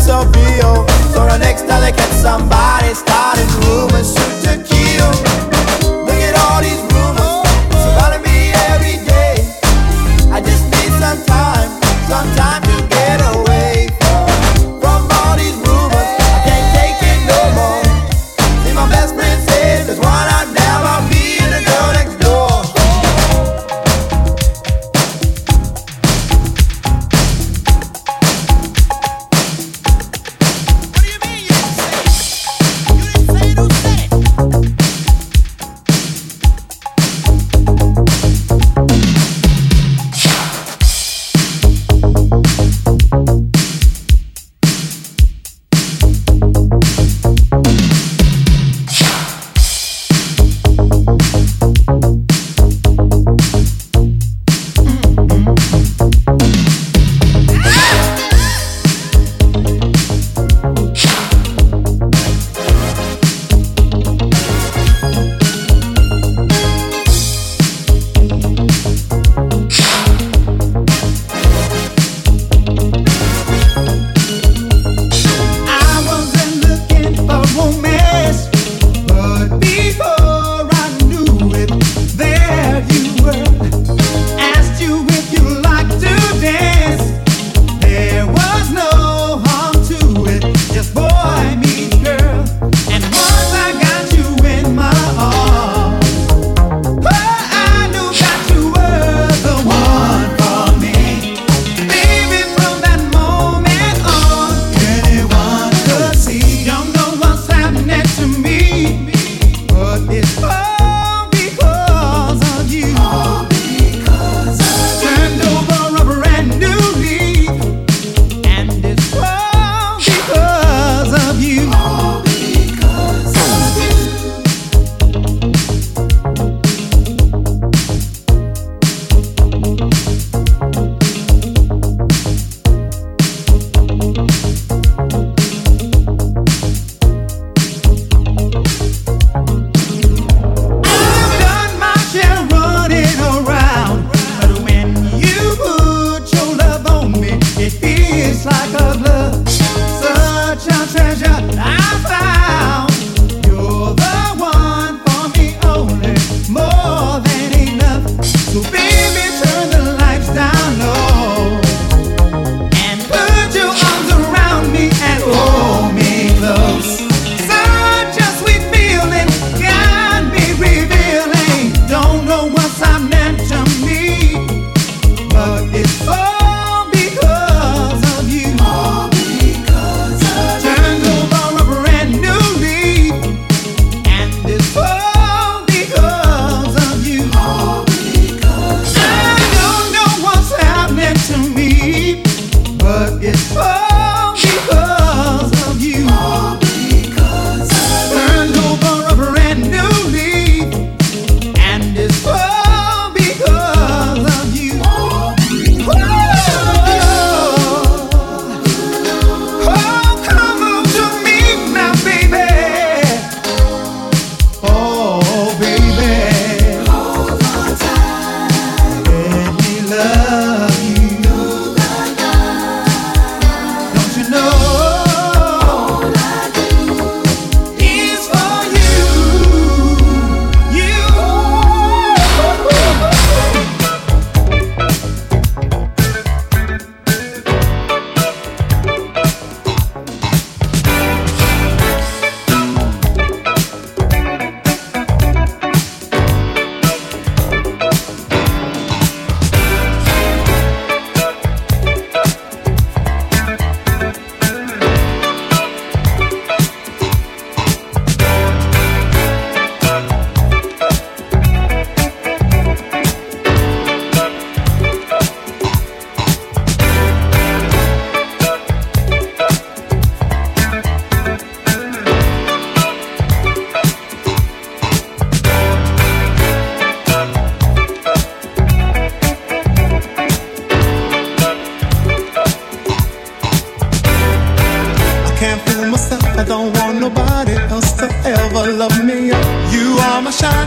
So the next time they catch somebody starting rumors, shoot to kill.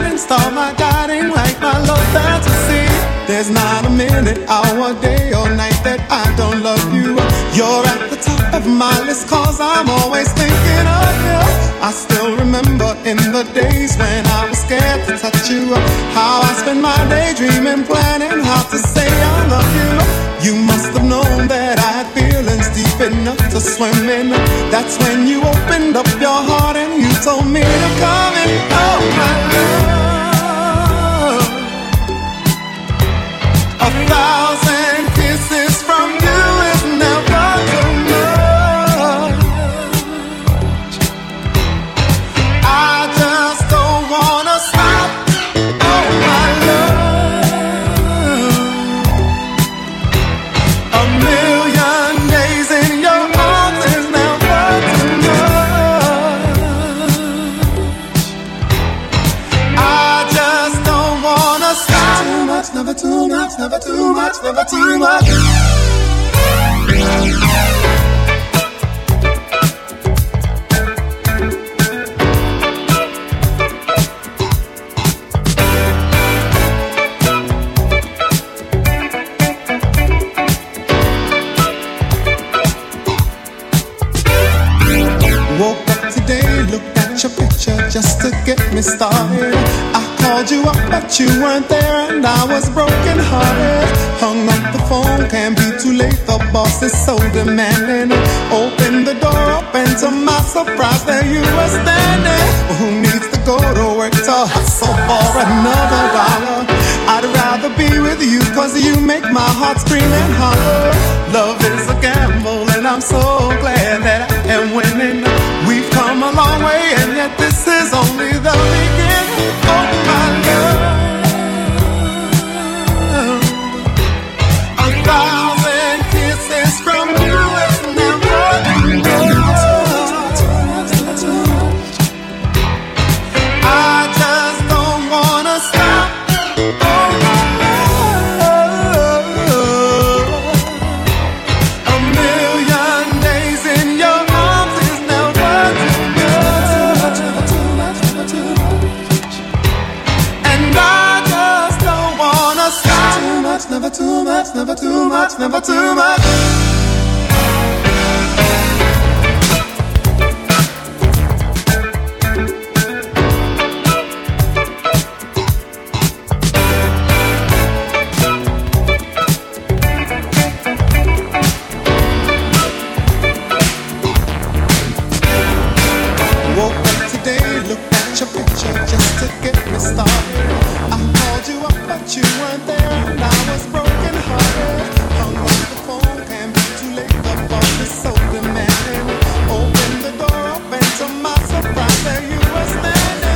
guiding star, my guiding light, my love fantasy. There's not a minute, hour, day or night that I don't love you. You're at the top of my list, cause I'm always thinking of you. I still remember in the days when I was scared to touch you, how I spent my day dreaming, planning how to say I love you. You must have known that I had feelings deep enough to swim in. That's when you opened up your heart and you told me to come in. Oh my love, a thousand kisses from you is never too much. I just don't wanna stop. Oh my love, a million days in your arms is never too much. I just don't wanna stop. Too much, never too much, never too much, never too much. Woke up today, looked at your picture just to get me started. I called you up but you weren't there and I was broken hearted. Hung up the phone, can't be too late, the boss is so demanding. Opened the door up and to my surprise there you were standing. Who needs to go to work to hustle for another dollar? I'd rather be with you cause you make my heart scream and holler. Love is a gamble and I'm so glad that I am winning. We've come a long way and yet this is only the beginning. Oh my love, a thousand kisses from you is never enough. I just don't wanna stop. Oh my love, a million days in your arms is never too much. And I just don't wanna stop. Too much, never too much, never too much, never too much. Woke up today, looked at your picture just to get me started. I called you up but you weren't there and I was broken hearted. Hung up the phone, can't be too late, the boss is so demanding. Opened the door up and to my surprise there you were standing.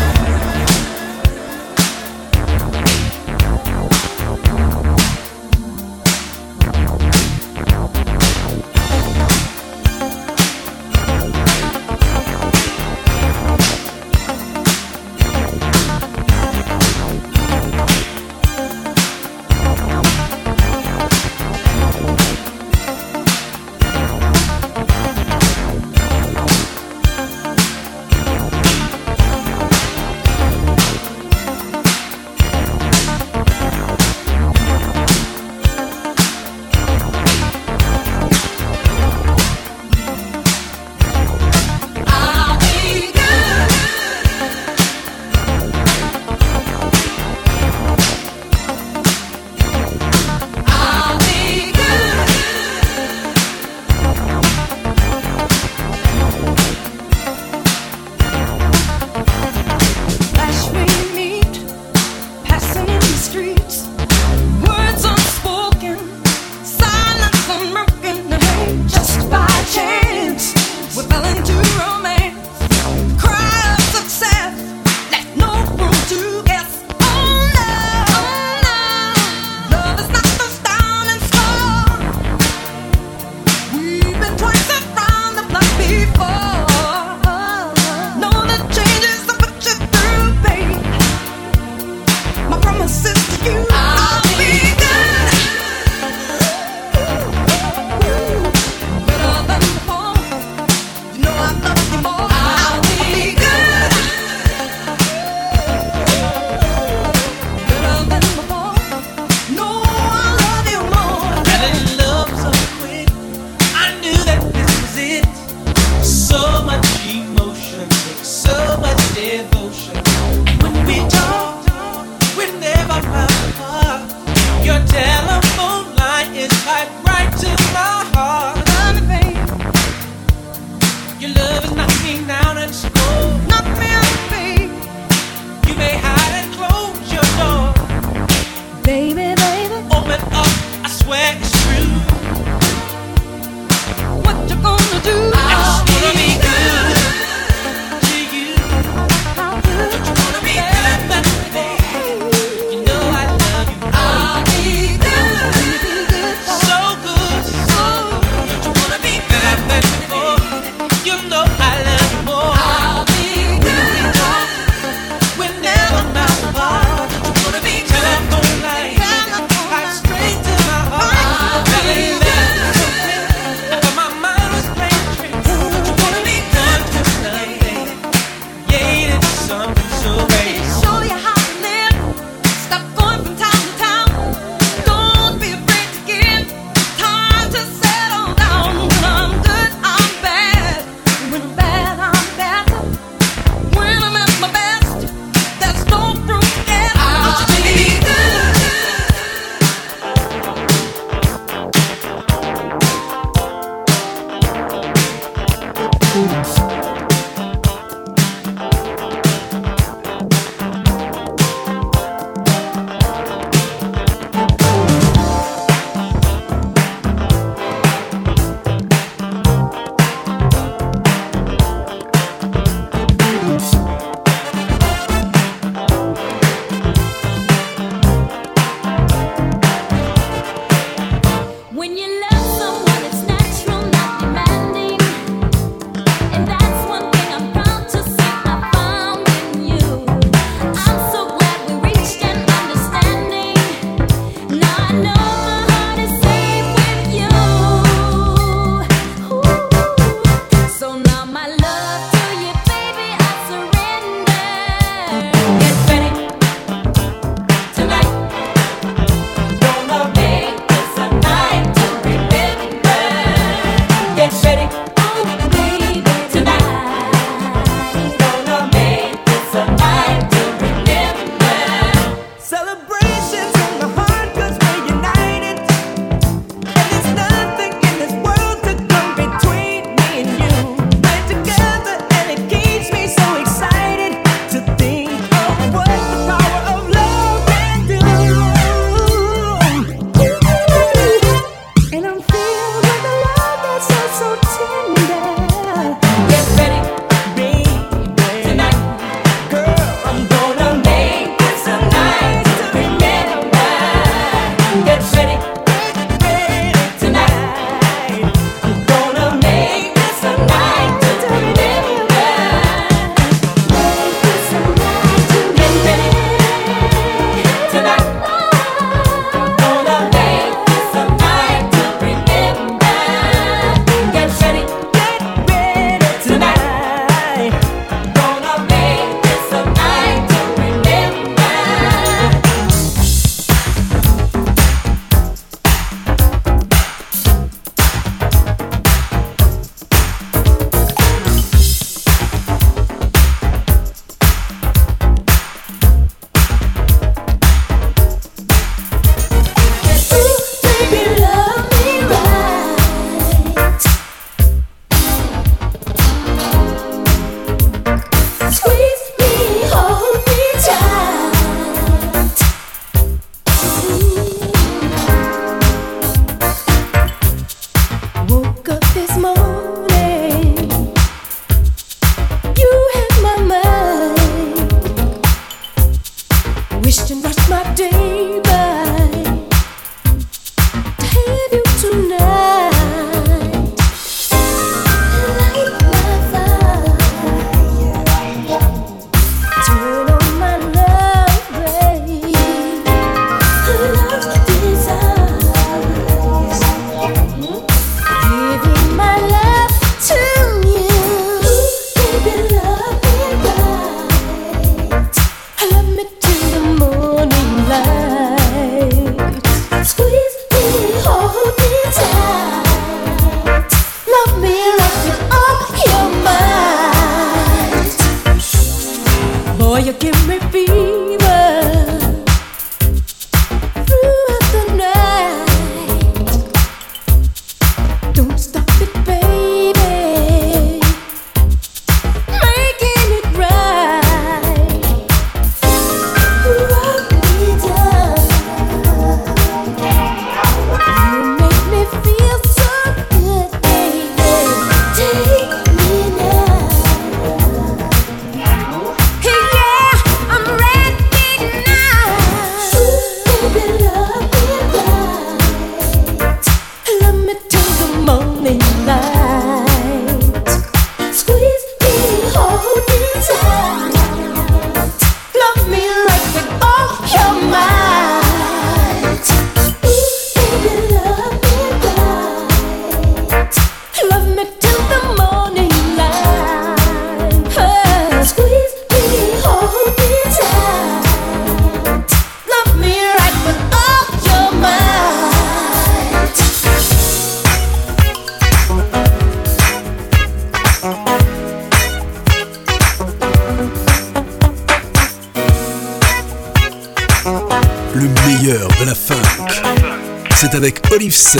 Le meilleur de la funk, c'est avec Olive C.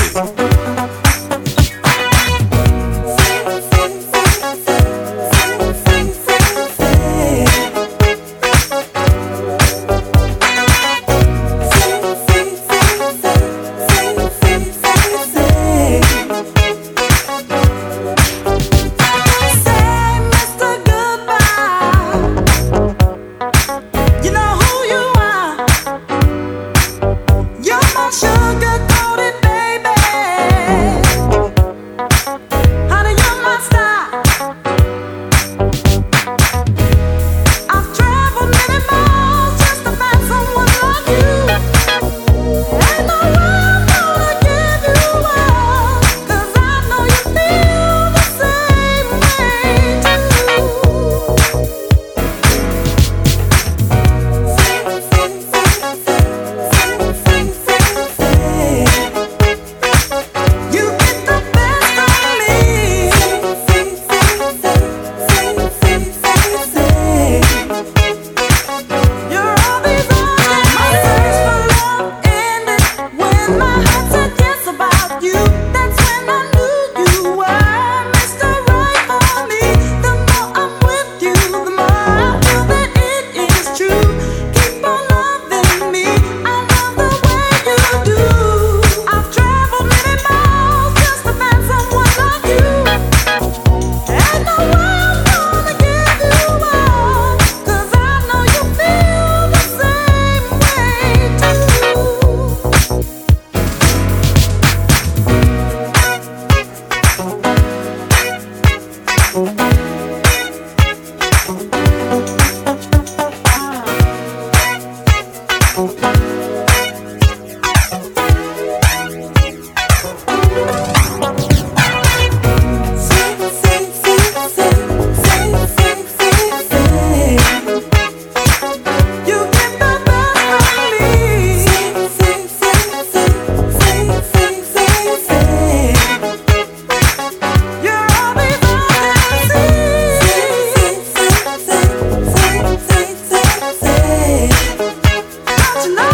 Tonight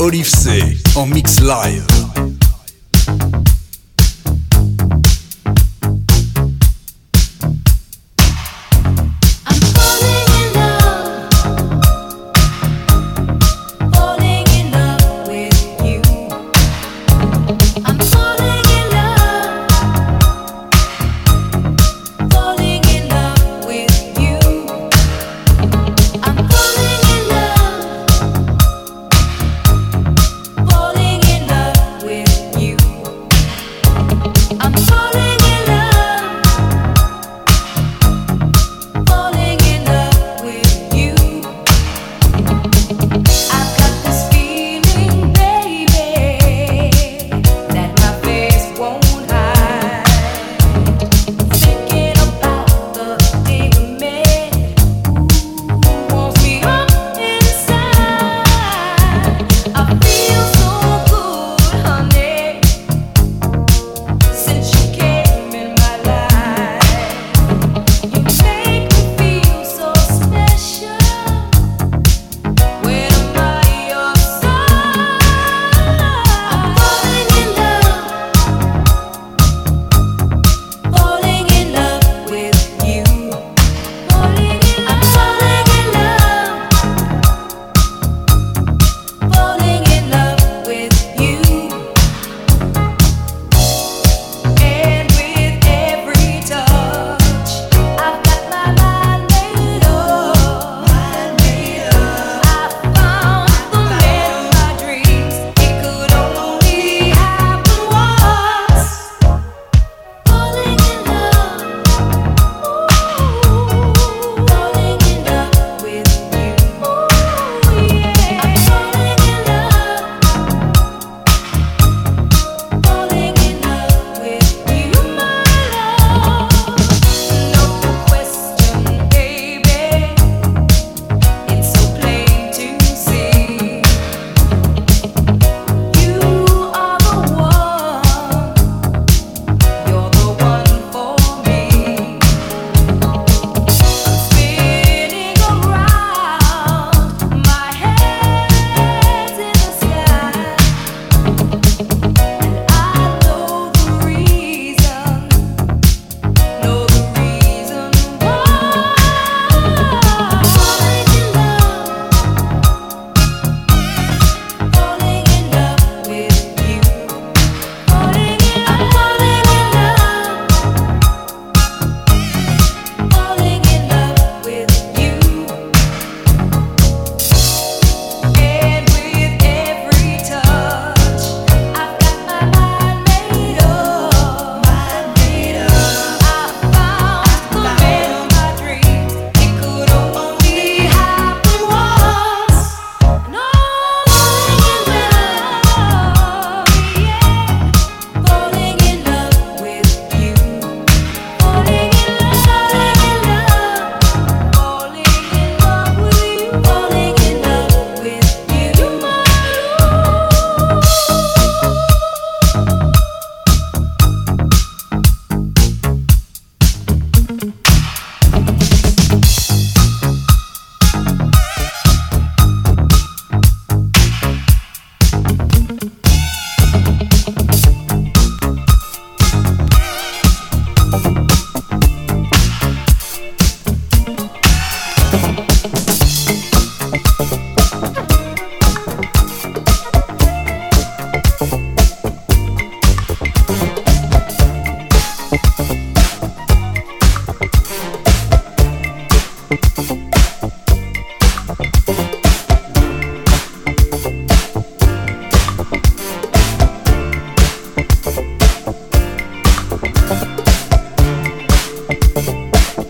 Olive C en mix live.